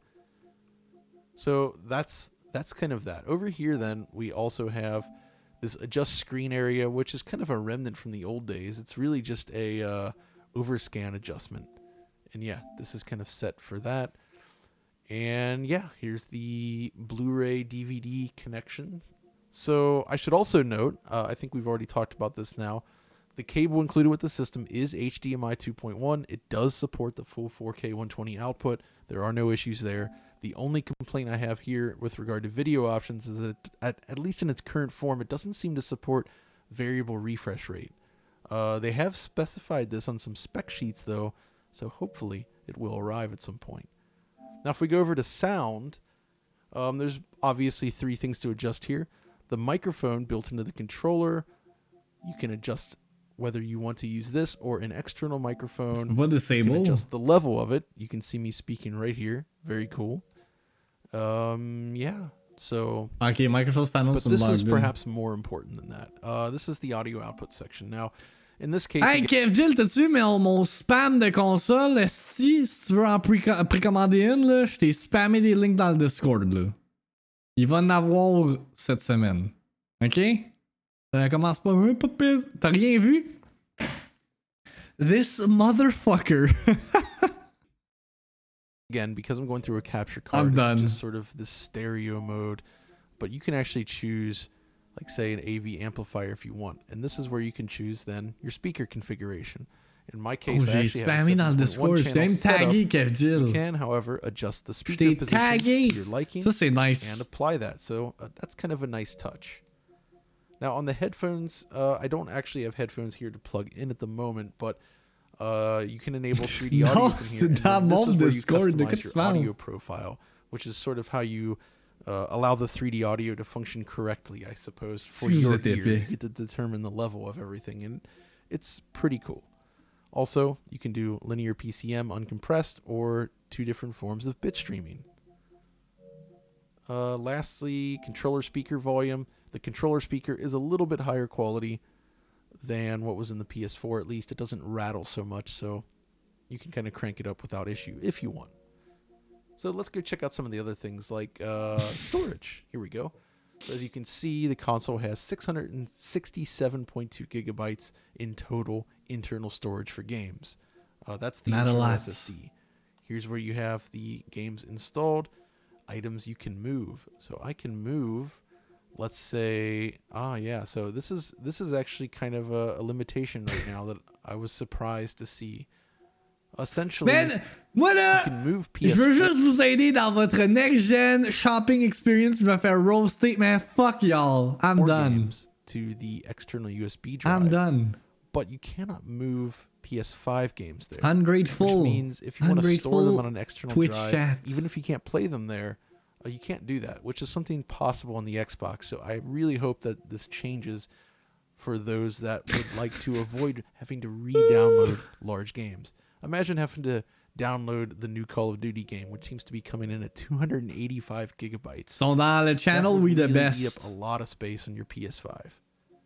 So that's that's kind of that. Over here, then, we also have this adjust screen area, which is kind of a remnant from the old days. It's really just a uh, overscan adjustment. And yeah, this is kind of set for that. And yeah, here's the Blu-ray D V D connection. So I should also note, uh, I think we've already talked about this now, the cable included with the system is H D M I two point one. It does support the full four K one twenty output. There are no issues there. The only complaint I have here with regard to video options is that, at, at least in its current form, it doesn't seem to support variable refresh rate. Uh, they have specified this on some spec sheets, though, so hopefully it will arrive at some point. Now, if we go over to sound, um, there's obviously three things to adjust here. The microphone built into the controller, you can adjust whether you want to use this or an external microphone. What disable? You can adjust the level of it. You can see me speaking right here. Very cool. Um, yeah. So. Okay, Microsoft stands. But this is perhaps more important than that. Uh, this is the audio output section. Now, in this case. Hey, Kev Jill, t'as-tu vu mon, mon spam de console? Esti, si tu veux en pré- précommander une, là, je t'ai spammé des links dans le Discord, là. Il va en avoir cette semaine. Ok? Ça commence pas. Hein, pas de pisse. T'as rien vu? This motherfucker. Again, because I'm going through a capture card, I'm done. It's just sort of this stereo mode. But you can actually choose, like, say, an A V amplifier if you want. And this is where you can choose, then, your speaker configuration. In my case, oh, I actually have a seven point one channel setup. You can, however, adjust the speaker position to your liking Ça, c'est nice. and apply that. So uh, that's kind of a nice touch. Now, on the headphones, uh, I don't actually have headphones here to plug in at the moment, but Uh, you can enable three D Non, audio from here. c'est and dans then this mon is where you Discord, de quoi customize tu your parles? audio profile, which is sort of how you uh, allow the three D audio to function correctly, I suppose, for Si vous your êtes ear. épais. You get to determine the level of everything, and it's pretty cool. Also, you can do linear P C M uncompressed or two different forms of bit streaming. Uh, lastly, controller speaker volume. The controller speaker is a little bit higher quality than what was in the P S four, at least. It doesn't rattle so much, so you can kind of crank it up without issue if you want. So let's go check out some of the other things like uh, storage. Here we go. So as you can see, the console has six hundred sixty-seven point two gigabytes in total internal storage for games. Uh, that's the Not a internal lot. S S D. Here's where you have the games installed, items you can move. So I can move, let's say, ah, yeah. So this is this is actually kind of a, a limitation right now that I was surprised to see. Essentially, Man, moi là, you can move P S je four. veux juste vous aider dans votre next-gen shopping experience. Je vais faire roaster, man. Fuck y'all. I'm done. Games to the external U S B drive. I'm done. But you cannot move P S five games there. Ungrateful. Which means if you want to store them on an external Twitch drive, chat. even if you can't play them there, uh, you can't do that, which is something possible on the Xbox. So I really hope that this changes for those that would like to avoid having to re-download large games. Imagine having to download the new Call of Duty game, which seems to be coming in at two hundred eighty-five gigabytes. Sont dans le channel, That would we the really best. eat up a lot of space on your P S five.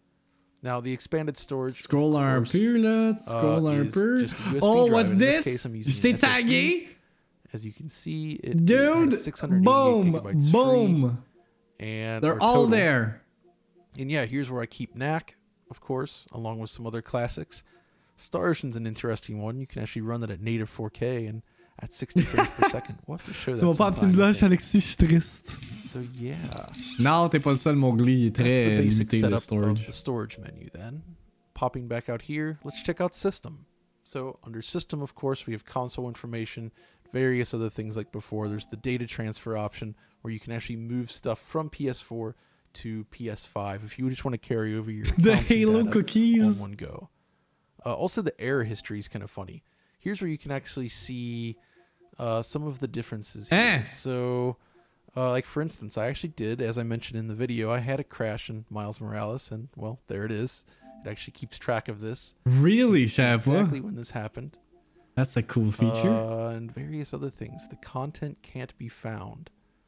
Now, the expanded storage. Scroll of un course, peu, là. Scroll uh, un is peu. just a U S B Oh, drive. what's In this? case, I'm using Je t'ai an S S D. tagué. As you can see, it, Dude, it has six hundred eighty-eight boom, gigabytes boom. free, and They're or all total. there. And yeah, here's where I keep Knack, of course, along with some other classics. Star Ocean's an interesting one. You can actually run that at native four K and at sixty frames per second. We'll have to show Tu that m'as pas sometime, appelé I de think. Alexis, je suis triste. So yeah, Non, t'es pas le seul, Mowgli. Il est that's the très basic limité, le setup of storage. the storage menu. Then, popping back out here, let's check out System. So under System, of course, we have console information, various other things like before. There's the data transfer option where you can actually move stuff from P S four to P S five if you just want to carry over your The accounts and Halo data cookies. on one go. Uh, also, the error history is kind of funny. Here's where you can actually see uh, some of the differences here. Eh. So, uh, like for instance, I actually did, as I mentioned in the video, I had a crash in Miles Morales, and well, there it is. It actually keeps track of this. Really, So you can see Chef? exactly when this happened. That's a cool feature. Uh, and various other things. The content can't be found.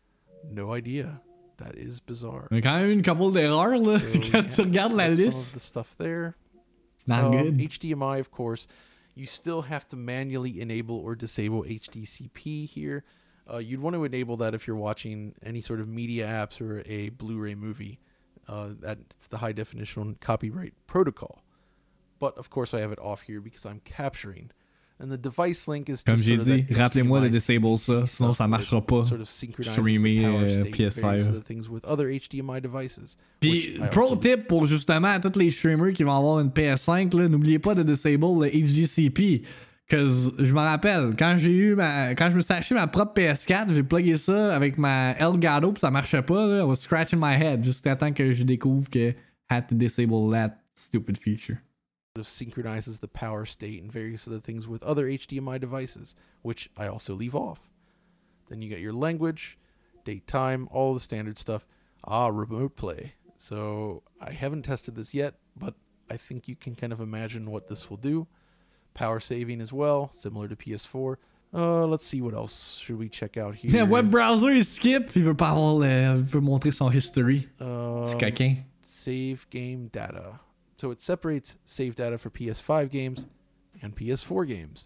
No idea. That is bizarre. Il y a quand même eu une couple d'erreurs, là. So, Quand yeah, tu regardes la that's some of liste, the stuff there. it's not Um, good. H D M I, of course. You still have to manually enable or disable H D C P here. Uh, you'd want to enable that if you're watching any sort of media apps or a Blu-ray movie. Uh, that's the high definition copyright protocol. But of course, I have it off here because I'm capturing. And the device link is Comme just j'ai sort of dit, that rappelez-moi de H D M I disable ça, C C sinon ça stuff marchera that pas. Sort of synchronizes Streamer, the power euh, state, P S five. various other things with other H D M I devices. Puis, which I pro also tip pour justement tous les streamers qui vont avoir une P S cinq, là, n'oubliez pas de disable le H D C P. Cause je me rappelle, quand j'ai eu ma. Quand je me suis acheté ma propre P S quatre, j'ai plugué ça avec ma Elgato pis ça marchait pas, là. I was scratching my head jusqu'à temps que je découvre que I had to disable that stupid feature. of synchronizes the power state and various other things with other H D M I devices, which I also leave off. Then you got your language, date, time, all the standard stuff. Ah, remote play. So I haven't tested this yet, but I think you can kind of imagine what this will do. Power saving as well, similar to P S four. Uh, let's see what else should we check out here. Le web browser, il skip, il veut pas avoir le. Il veut montrer son history. Um, C'est coquin. Save game data. So it separates save data for P S five games and P S four games.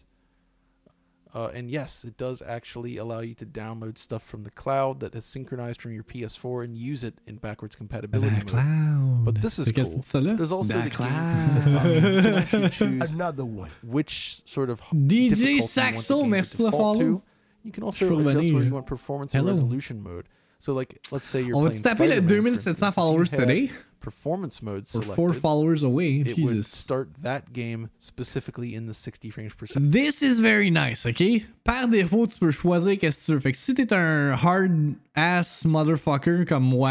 Uh, and yes, it does actually allow you to download stuff from the cloud that is synchronized from your P S four and use it in backwards compatibility The mode. cloud. But this is C'est cool. qu'est-ce que c'est ça, là? There's also The the cloud. game presets option. You can actually choose Another one. which sort of D J difficulty you want Saxo, the game merci to pour le default follow. to. You can also Je peux adjust where revenir. you want performance or Hello. resolution mode. So like, let's say you're On va playing te taper le Spider-Man, two for thousand seven hundred instance. If followers you had today. Performance mode We're selected. four followers away. It would Jesus. start that game specifically in the sixty frames per second. This is very nice, ok? Par défaut, tu peux choisir qu'est-ce que tu veux. Fait que si t'es un hard ass motherfucker comme moi,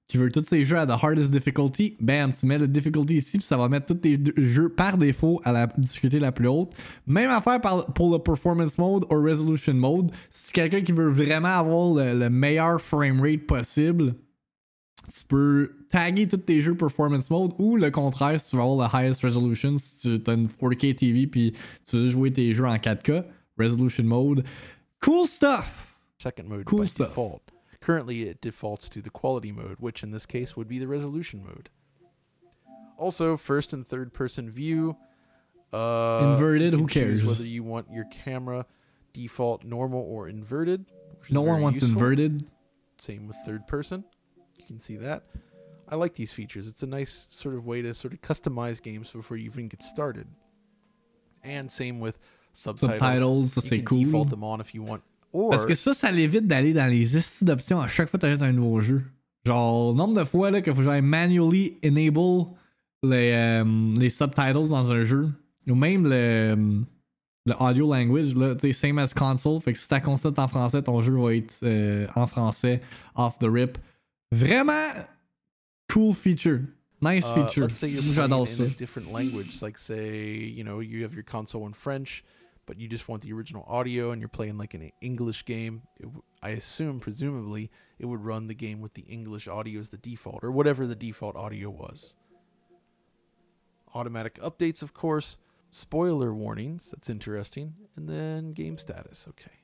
qui veut tous ses jeux à the hardest difficulty, bam, tu mets le difficulty ici, puis ça va mettre tous tes jeux par défaut à la difficulté la plus haute. Même affaire par, pour le performance mode ou resolution mode. Si quelqu'un qui veut vraiment avoir le, le meilleur framerate possible, tu peux taguer tous tes jeux performance mode, ou le contraire, si tu veux avoir le highest resolution, si tu as une four K T V puis tu veux jouer tes jeux en quatre K, resolution mode. Cool stuff! Second mode cool by stuff. default. Currently, it defaults to the quality mode, which in this case would be the resolution mode. Also, first and third person view. Uh, Inverted, you who can choose cares? whether you want your camera default normal or inverted. which is No one very wants useful. inverted. Same with third person. You can see that. I like these features. It's a nice sort of way to sort of customize games before you even get started. And same with subtitles. Subtitles, ça, you c'est can cool. default them on if you want. Or Parce que ça, ça l'évite d'aller dans les styles d'options à chaque fois que tu achètes un nouveau jeu. Genre, le nombre de fois là, qu'il faut que j'aille manually enable les, euh, les subtitles dans un jeu. Ou même le, le audio language, là, tu sais, same as console. Fait que si ta console est en français, ton jeu va être euh, en français, off the rip. Vraiment cool feature. Nice Uh, feature. let's say you're Moi, playing j'adore in ça. a different language, like say, you know, you have your console in French, but you just want the original audio and you're playing like an English game. It w- I assume, presumably, it would run the game with the English audio as the default, or whatever the default audio was. Automatic updates, of course. Spoiler warnings, that's interesting. And then game status, okay.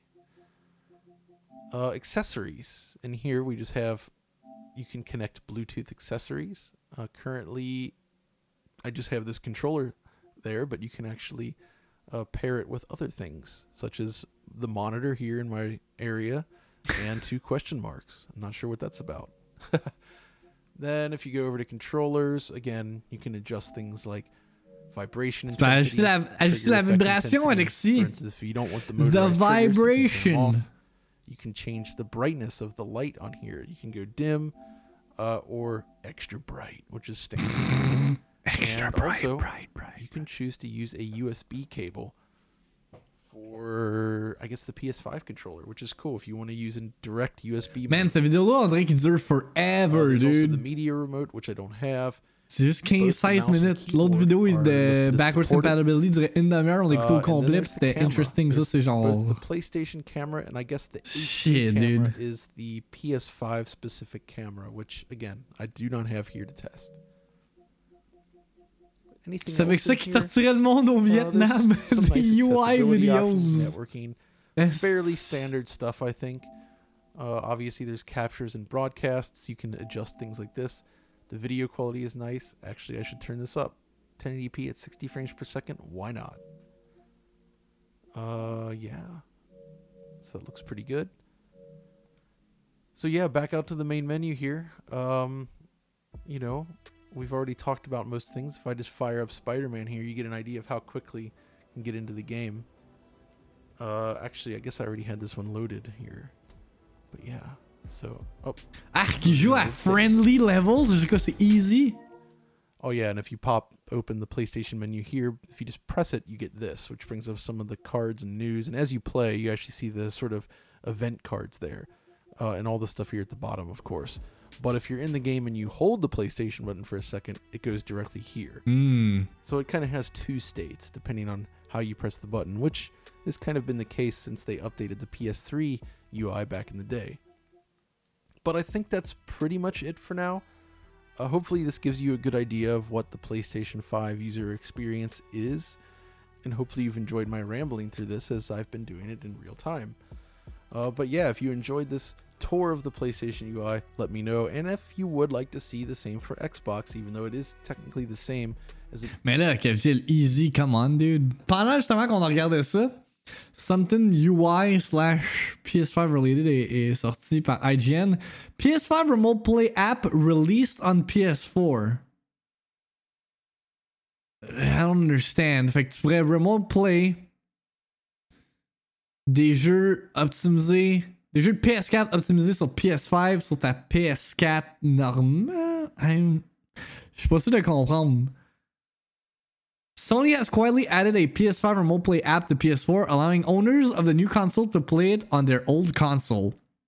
Uh, accessories. And here we just have, you can connect Bluetooth accessories. Uh, currently, I just have this controller there, but you can actually uh, pair it with other things, such as the monitor here in my area and two question marks. I'm not sure what that's about. Then if you go over to controllers, again, you can adjust things like vibration Tu peux intensity. ajuster la, ajuster trigger la effect vibration, intensity. Alexis. For instance, if you don't want the The motorized triggers, you can turn them vibration. off. You can change the brightness of the light on here. You can go dim uh, or extra bright, which is standard. Extra and bright, also, bright, bright. you can choose to use a U S B cable for, I guess, the P S five controller, which is cool if you want to use a direct U S B. Man, mode. cette vidéo-là, on dirait qu'il dure Uh, forever, there's also the dude. media remote, which I don't have. C'est juste quinze Both the seize mouse and minutes. L'autre keyboard vidéo are de listed as Backwards supported. Compatibility dirait une demi-heure, on l'écoute Uh, au and then complet, there's pis the c'était camera. interesting. Ça, There's c'est genre. both the PlayStation camera and I guess the H D Shit, camera dude. is the P S five specific camera, which again I do not have here to test. Anything C'est avec else ça in qu'ils here? sortiraient le monde au Uh, Vietnam. there's some Des nice U I accessibility videos. options, networking, Yes. fairly standard stuff, I think. Uh, obviously, there's captures and broadcasts. You can adjust things like this. The video quality is nice. Actually, I should turn this up. ten eighty p at sixty frames per second. Why not? Uh, yeah. So that looks pretty good. So yeah, back out to the main menu here. Um, you know, we've already talked about most things. If I just fire up Spider-Man here, you get an idea of how quickly you can get into the game. Uh, actually, I guess I already had this one loaded here. But yeah, so... Oh, Ah, qui joue à friendly levels, je sais quoi, c'est easy. oh yeah, and if you pop open the PlayStation menu here, if you just press it, you get this, which brings up some of the cards and news. And as you play, you actually see the sort of event cards there. Uh, and all the stuff here at the bottom, of course. But if you're in the game and you hold the PlayStation button for a second, it goes directly here. Mm. So it kind of has two states, depending on how you press the button, which has kind of been the case since they updated the P S three U I back in the day. But I think that's pretty much it for now. Uh, hopefully this gives you a good idea of what the PlayStation five user experience is, and hopefully you've enjoyed my rambling through this as I've been doing it in real time. Uh, but yeah, if you enjoyed this tour of the PlayStation U I, let me know. And if you would like to see the same for Xbox, even though it is technically the same as it. Mais là, Kevin, easy, come on, dude. Pendant justement qu'on a regardé ça, Something U I slash P S five related est, est sorti par I G N. P S five Remote Play app released on P S four. I don't understand. Fait que tu pourrais Remote Play des jeux optimisés, des jeux de P S quatre optimisés sur P S cinq, sur ta P S quatre normale. I'm... Je suis pas sûr de comprendre. Sony has quietly added a P S five Remote Play app to P S four, allowing owners of the new console to play it on their old console.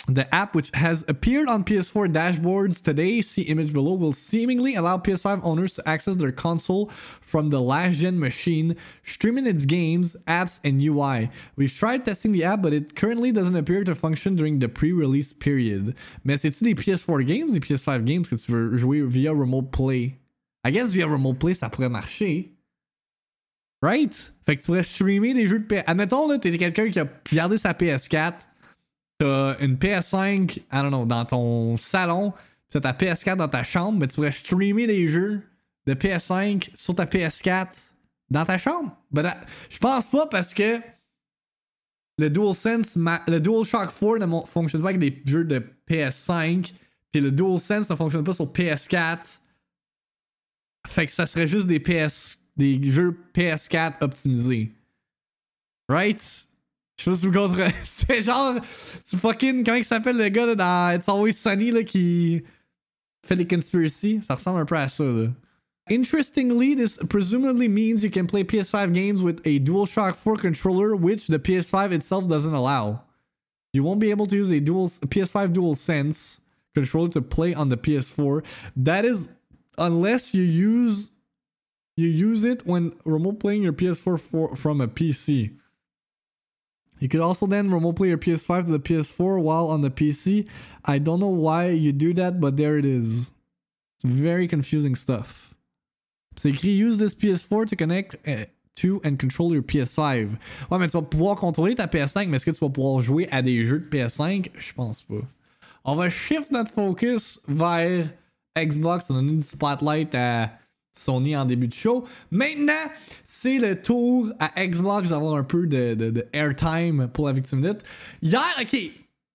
The app, which has appeared on P S four dashboards today, see image below, will seemingly allow P S five owners to access their console from the last-gen machine, streaming its games, apps, and U I. We've tried testing the app, but it currently doesn't appear to function during the pre-release period. Mais c'est-tu des P S four games, des P S five games que tu veux jouer via Remote Play? I guess via Remote Play, ça pourrait marcher. Right? Fait que tu pourrais streamer des jeux de P S... Admettons, là, t'es quelqu'un qui a gardé sa P S quatre, t'as une P S cinq, I don't know, dans ton salon, pis t'as ta P S quatre dans ta chambre, mais tu pourrais streamer des jeux de P S cinq sur ta P S quatre dans ta chambre. Ben, je pense pas parce que le DualSense, le DualShock four ne fonctionne pas avec des jeux de P S cinq, puis le DualSense ne fonctionne pas sur P S quatre. Fait que ça serait juste des P S, des jeux P S quatre optimisés. Right? Je sais pas si vous contre... C'est genre... C'est fucking... Comment il s'appelle le gars là, dans It's Always Sunny là, qui fait les conspiracies? Ça ressemble un peu à ça. Là. Interestingly, this presumably means you can play P S five games with a DualShock four controller, which the P S five itself doesn't allow. You won't be able to use a dual P S five DualSense controller to play on the P S four. That is... Unless you use... You use it when remote playing your P S four for, from a P C. You could also then remote play your P S five to the P S four while on the P C. I don't know why you do that, but there it is. It's very confusing stuff. C'est écrit use this P S four to connect uh, to and control your P S five. Ouais, mais tu vas pouvoir contrôler ta P S cinq, mais est-ce que tu vas pouvoir jouer à des jeux de P S cinq? Je pense pas. On va shift notre focus vers Xbox. On a donné du spotlight à Sony en début de show. Maintenant, c'est le tour à Xbox d'avoir un peu de, de, de airtime pour la victime minute. Hier, ok.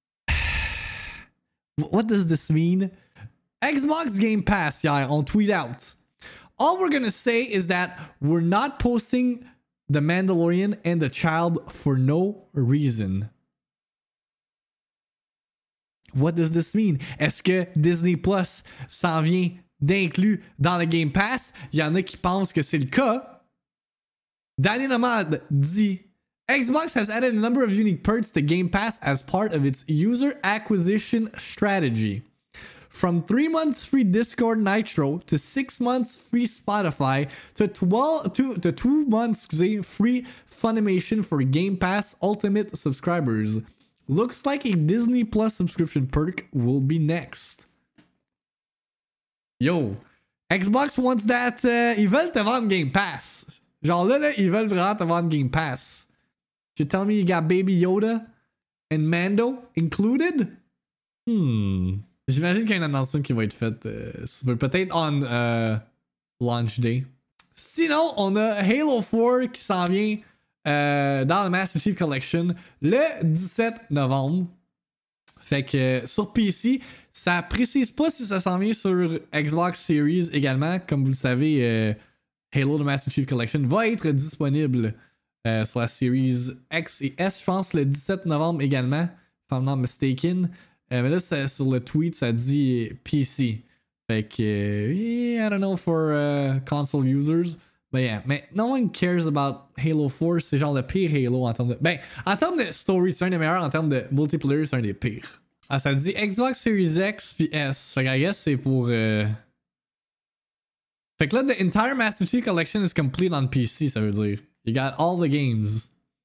What does this mean? Xbox Game Pass, hier, on tweet out. All we're gonna say is that we're not posting The Mandalorian and The Child for no reason. What does this mean? Est-ce que Disney Plus s'en vient d'inclus dans le Game Pass? Il y en a qui pensent que c'est le cas. Danny Nomad dit Xbox has added a number of unique perks to Game Pass as part of its user acquisition strategy. From three months free Discord Nitro to six months free Spotify to twelve to, to two months free Funimation for Game Pass Ultimate subscribers. Looks like a Disney Plus subscription perk will be next. Yo, Xbox wants that. Uh, ils veulent te vendre Game Pass. Genre là, là, ils veulent vraiment te vendre Game Pass. You tell me you got Baby Yoda and Mando included? Hmm. J'imagine qu'il y a un announcement qui va être fait. Euh, peut-être on uh, launch day. Sinon, on a Halo four qui s'en vient euh, dans le Master Chief Collection le dix-sept novembre. Fait que euh, sur P C, ça précise pas si ça s'en vient sur Xbox Series également. Comme vous le savez, euh, Halo The Master Chief Collection va être disponible euh, sur la Series X et S, je pense, le dix-sept novembre également, if I'm not mistaken. Euh, mais là, ça, sur le tweet, ça dit P C. Fait que, uh, yeah, I don't know for uh, console users. But yeah, mais no one cares about Halo four. C'est genre le pire Halo en termes de... Ben, en termes de story, c'est un des meilleurs. En termes de multiplayer, c'est un des pires. Ah, ça dit Xbox Series X puis S. Fait que I guess c'est pour... Uh... Fait que là, the entire Master Chief Collection is complete on P C, ça veut dire. You got all the games.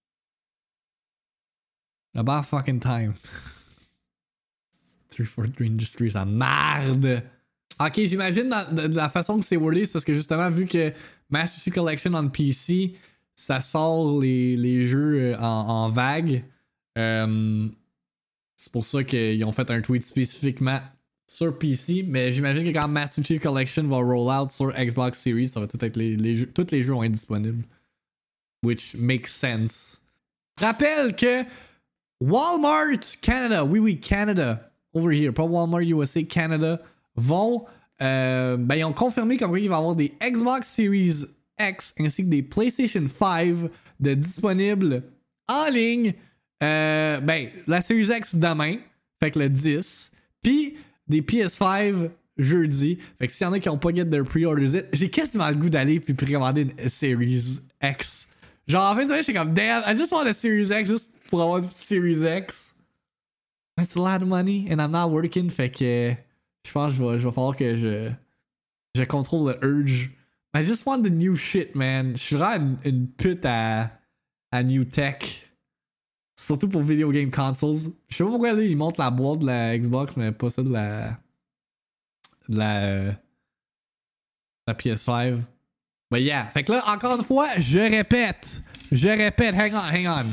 About fucking time. three forty-three Industries, ça merde! Ok, j'imagine dans, de, de la façon que c'est wordé, c'est parce que justement, vu que Master Chief Collection on P C, ça sort les, les jeux en, en vague. Euh, c'est pour ça qu'ils ont fait un tweet spécifiquement sur P C, mais j'imagine que quand Master Chief Collection va roll out sur Xbox Series, ça va tout être les, les jeux, tous les jeux vont être disponibles. Which makes sense. Rappelle que Walmart Canada, oui oui, Canada, over here, pas Walmart U S A, Canada, vont, euh, ben ils ont confirmé comme quoi il va y avoir des Xbox Series X ainsi que des PlayStation five de disponibles en ligne, euh, ben la Series X demain, fait que le dix, puis des P S five jeudi, fait que s'il y en a qui n'ont pas get their pre-orders it, j'ai quasiment le goût d'aller puis précommander une Series X. Genre en fait, j'étais comme damn, I just want a Series X just pour avoir une Series X. It's a lot of money and I'm not working. Fait que je pense que je vais, je vais falloir que je, je contrôle le urge. I just want the new shit, man. Je suis vraiment une, une pute à, à new tech. Surtout pour video game consoles. Je sais pas pourquoi là, ils montrent la boîte de la Xbox, mais pas ça de la. de la. Euh, la P S cinq. But yeah. Fait que là, encore une fois, je répète. Je répète. Hang on, hang on.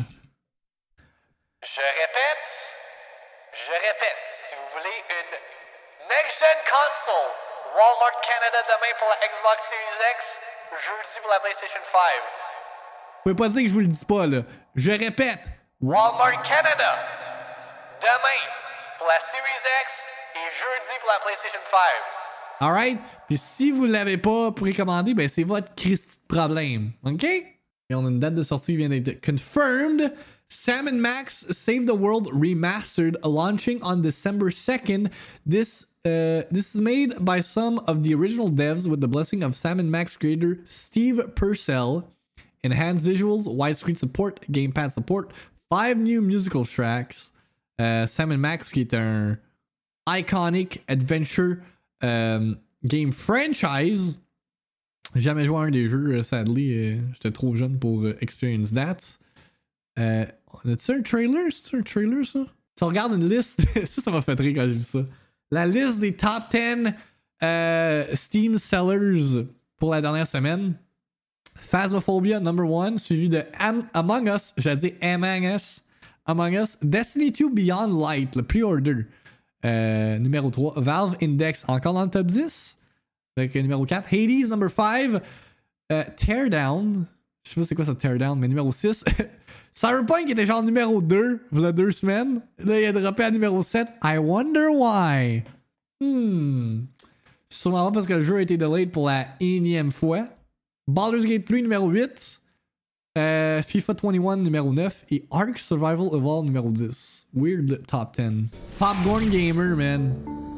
Je répète. Je répète. Si vous voulez une next-gen console, Walmart Canada demain pour la Xbox Series X, jeudi pour la PlayStation cinq. Vous pouvez pas dire que je vous le dis pas, là. Je répète. Walmart Canada demain pour la Series X et jeudi pour la PlayStation cinq. Alright? Puis si vous l'avez pas précommandé, ben c'est votre Christ de problème. OK? Et on a une date de sortie qui vient d'être confirmed. Sam and Max Save the World Remastered, launching on December second. This uh, this is made by some of the original devs with the blessing of Sam and Max creator Steve Purcell. Enhanced visuals, widescreen support, gamepad support, five new musical tracks. Uh, Sam and Max qui est un iconic adventure um, game franchise. J'ai jamais joué à un des jeux, sadly. Euh, J'étais trop jeune pour uh, experience that. Euh, As-tu un trailer? C'est un trailer, ça? Tu regardes une liste. Ça, ça m'a fait rire quand j'ai vu ça. La liste des top dix euh, Steam sellers pour la dernière semaine. Phasmophobia, number one. Suivi de Am- Among Us. J'allais dire Among Us. Among Us. Destiny two Beyond Light, le pre-order. Euh, numéro trois. Valve Index, encore dans le top dix. Avec numéro quatre. Hades, number five. Euh, Teardown. Je sais pas c'est quoi ça, Teardown, mais numéro six. Cyberpunk était genre numéro deux, il y a deux semaines. Là, il a droppé à numéro sept. I wonder why. Hmm. Sûrement pas parce que le jeu a été delayed pour la énième fois. Baldur's Gate three, numéro huit. Euh, FIFA twenty-one, numéro neuf. Et Ark Survival Evolved, numéro dix. Weird top ten. Popcorn Gamer, man.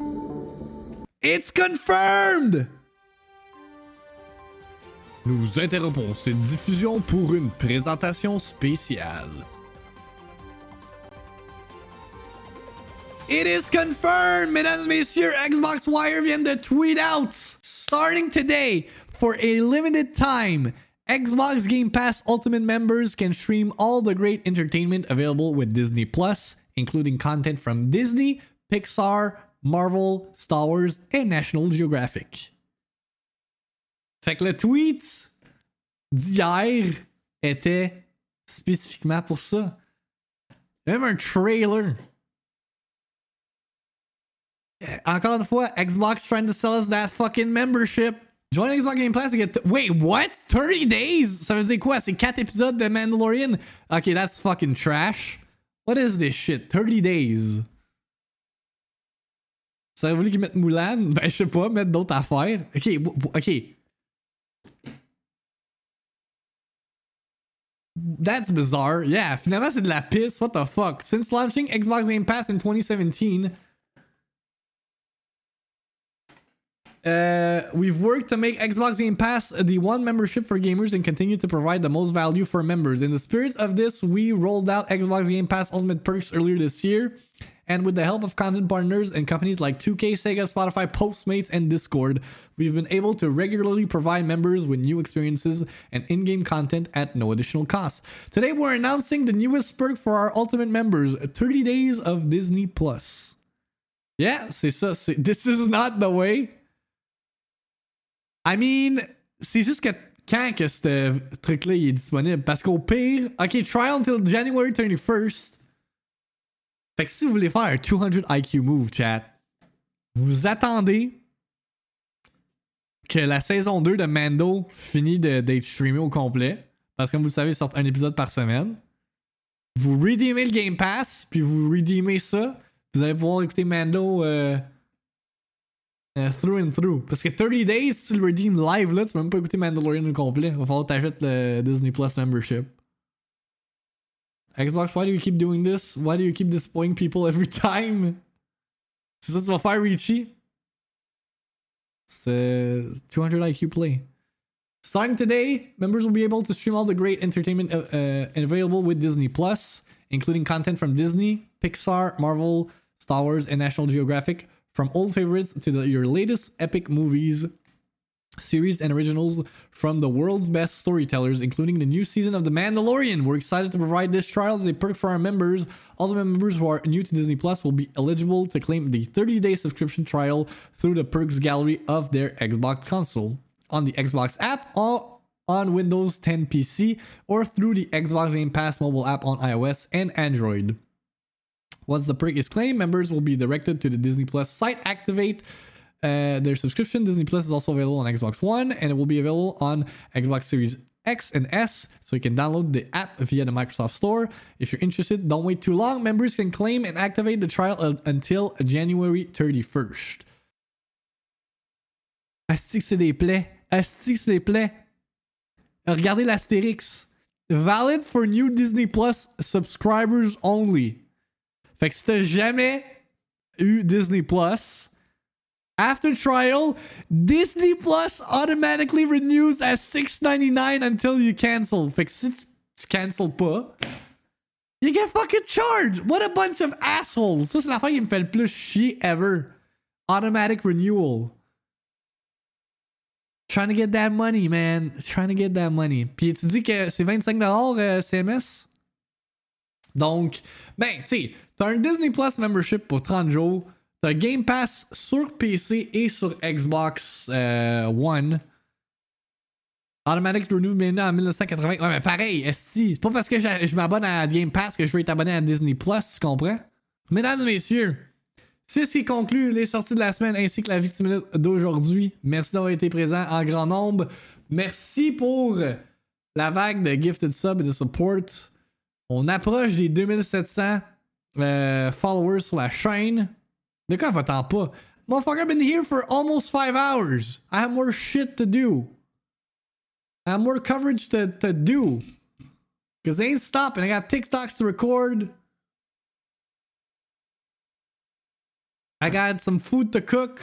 It's confirmed! Nous interrompons cette diffusion pour une présentation spéciale. It is confirmed, mesdames et messieurs, Xbox Wire vient de tweet out. Starting today, for a limited time, Xbox Game Pass Ultimate members can stream all the great entertainment available with Disney Plus, including content from Disney, Pixar, Marvel, Star Wars, and National Geographic. Fait que le tweet d'hier était spécifiquement pour ça. Il y a même un trailer. Encore une fois, Xbox trying to sell us that fucking membership. Join Xbox Game Pass to get... Th- Wait, what? thirty days? Ça veut dire quoi? C'est quatre épisodes de Mandalorian? Okay, that's fucking trash. What is this shit? thirty days. Ça aurait voulu qu'ils mettent Mulan? Ben, je sais pas, mettre d'autres affaires. Ok, ok. That's bizarre. Yeah, finalement c'est de la pisse. What the fuck? Since launching Xbox Game Pass in twenty seventeen, uh, we've worked to make Xbox Game Pass the one membership for gamers and continue to provide the most value for members. In the spirit of this, we rolled out Xbox Game Pass Ultimate Perks earlier this year. And with the help of content partners and companies like two K, Sega, Spotify, Postmates, and Discord, we've been able to regularly provide members with new experiences and in-game content at no additional cost. Today, we're announcing the newest perk for our Ultimate members, thirty days of Disney Plus. Yeah, c'est ça. C'est, this is not the way. I mean, c'est juste que quand que ce truc-là est disponible? Parce qu'au pire, OK, trial until January thirty-first. Fait que si vous voulez faire un two hundred I Q move, chat, vous attendez que la saison deux de Mando finisse de, d'être streamée au complet. Parce que comme vous le savez, il sort un épisode par semaine. Vous redeemez le Game Pass, puis vous redeemez ça. Vous allez pouvoir écouter Mando euh, euh, through and through. Parce que thirty days, si tu le redeem live, là, tu peux même pas écouter Mandalorian au complet. Il va falloir que t'achètes le Disney Plus membership. Xbox, why do you keep doing this? Why do you keep disappointing people every time? C'est ça que tu vas faire, Richie? C'est two hundred I Q play. Starting today, members will be able to stream all the great entertainment uh, uh, available with Disney Plus, including content from Disney, Pixar, Marvel, Star Wars, and National Geographic, from old favorites to the, your latest epic movies, series, and originals from the world's best storytellers, including the new season of The Mandalorian. We're excited to provide this trial as a perk for our members. All the members who are new to Disney Plus will be eligible to claim the thirty-day subscription trial through the perks gallery of their Xbox console, on the Xbox app, or on Windows ten P C, or through the Xbox Game Pass mobile app on iOS and Android. Once the perk is claimed, members will be directed to the Disney Plus site. Activate uh, their subscription. Disney Plus is also available on Xbox One, and it will be available on Xbox Series X and S, so you can download the app via the Microsoft Store. If you're interested, don't wait too long. Members can claim and activate the trial uh, until January thirty-first. Asti que c'est des plaies. Asti que c'est des plaies. Regardez l'astérix. Valid for new Disney Plus subscribers only. Fait que si t'as jamais eu Disney Plus, after trial, Disney Plus automatically renews at six ninety-nine until you cancel. Fait que si tu cancel pas, you get fucking charged. What a bunch of assholes. Ça, c'est l'affaire qui me fait le plus chier ever. Automatic renewal. Trying to get that money, man. Trying to get that money. Puis tu dis que c'est vingt-cinq dollars euh, C M S? Donc, ben, tu sais, t'as un Disney Plus membership pour trente jours. T'as Game Pass sur P C et sur Xbox euh, One. Automatic Renew maintenant en dix-neuf cent quatre-vingts. Ouais, mais pareil, esti. C'est pas parce que je, je m'abonne à Game Pass que je veux être abonné à Disney Plus, tu comprends? Mesdames et messieurs, c'est ce qui conclut les sorties de la semaine ainsi que la Victime Minute d'aujourd'hui. Merci d'avoir été présent en grand nombre. Merci pour la vague de gifted sub et de support. On approche des deux mille sept cents euh, followers sur la chaîne. De quoi va-t'en pas? Motherfucker, I've been here for almost five hours. I have more shit to do. I have more coverage to, to do. Because they ain't stopping. I got TikToks to record. I got some food to cook.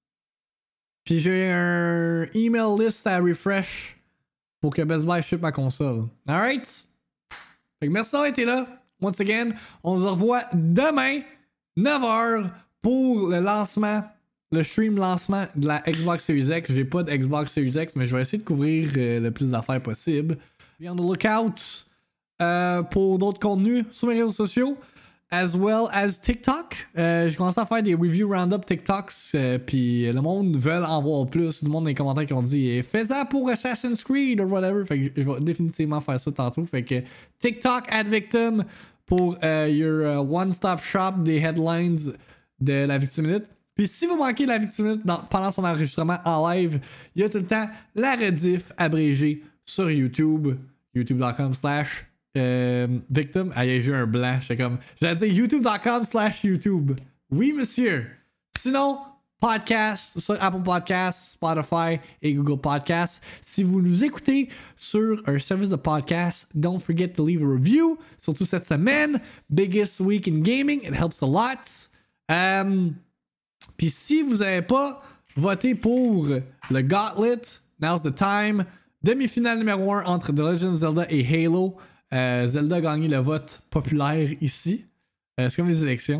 Puis j'ai un email list à refresh pour que Best Buy ship ma console. Alright? Fait que merci d'avoir été là. Once again, on se revoit demain, neuf heures, pour le lancement, le stream lancement de la Xbox Series X. J'ai pas de Xbox Series X, mais je vais essayer de couvrir euh, le plus d'affaires possible. Be on the lookout euh, pour d'autres contenus sur mes réseaux sociaux, as well as TikTok. Euh, j'ai commencé à faire des review roundup TikToks, euh, puis le monde veut en voir plus. Du monde dans les commentaires qui ont dit fais ça pour Assassin's Creed ou whatever. Fait que je vais définitivement faire ça tantôt. Fait que TikTok at Victim pour uh, your uh, one-stop shop des headlines de la Victime Minute. Puis si vous manquez la Victime Minute dans, pendant son enregistrement en live, il y a tout le temps la rediff abrégée sur YouTube, youtube.com slash victim. Ah, j'ai eu un blanc. J'étais comme, j'allais dire youtube.com slash YouTube. Oui, monsieur. Sinon, podcast sur Apple Podcasts, Spotify et Google Podcasts. Si vous nous écoutez sur un service de podcast, don't forget to leave a review. Surtout cette semaine, biggest week in gaming. It helps a lot. Um, Puis si vous n'avez pas voté pour le Gauntlet, now's the time. Demi-finale numéro un entre The Legend of Zelda et Halo. Euh, Zelda a gagné le vote populaire ici. Euh, c'est comme les élections.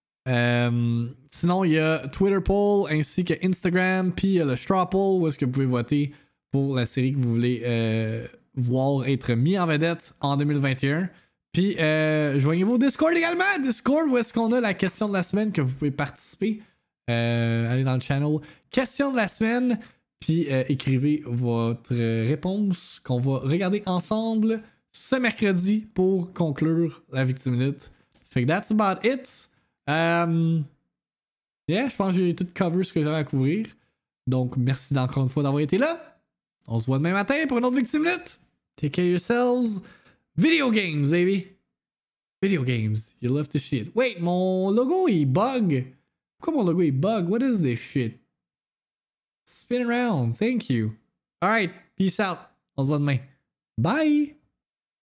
Euh, sinon, il y a Twitter poll ainsi que Instagram, puis il y a le Straw poll où est-ce que vous pouvez voter pour la série que vous voulez euh, voir être mis en vedette en deux mille vingt et un. Puis, euh, joignez-vous au Discord également. Discord où est-ce qu'on a la question de la semaine que vous pouvez participer. Euh, allez dans le channel question de la semaine, puis euh, écrivez votre réponse qu'on va regarder ensemble ce mercredi pour conclure la Victime Minute. Fait que that's about it. Um, yeah, je pense que j'ai tout cover ce que j'avais à couvrir. Donc, merci encore une fois d'avoir été là. On se voit demain matin pour une autre Victime Minute. Take care of yourselves. Video games, baby. Video games. You love to shit. Wait, mon logo il bug. Pourquoi mon logo il bug? What is this shit? Spin around. Thank you. Alright, peace out. On se voit demain. Bye.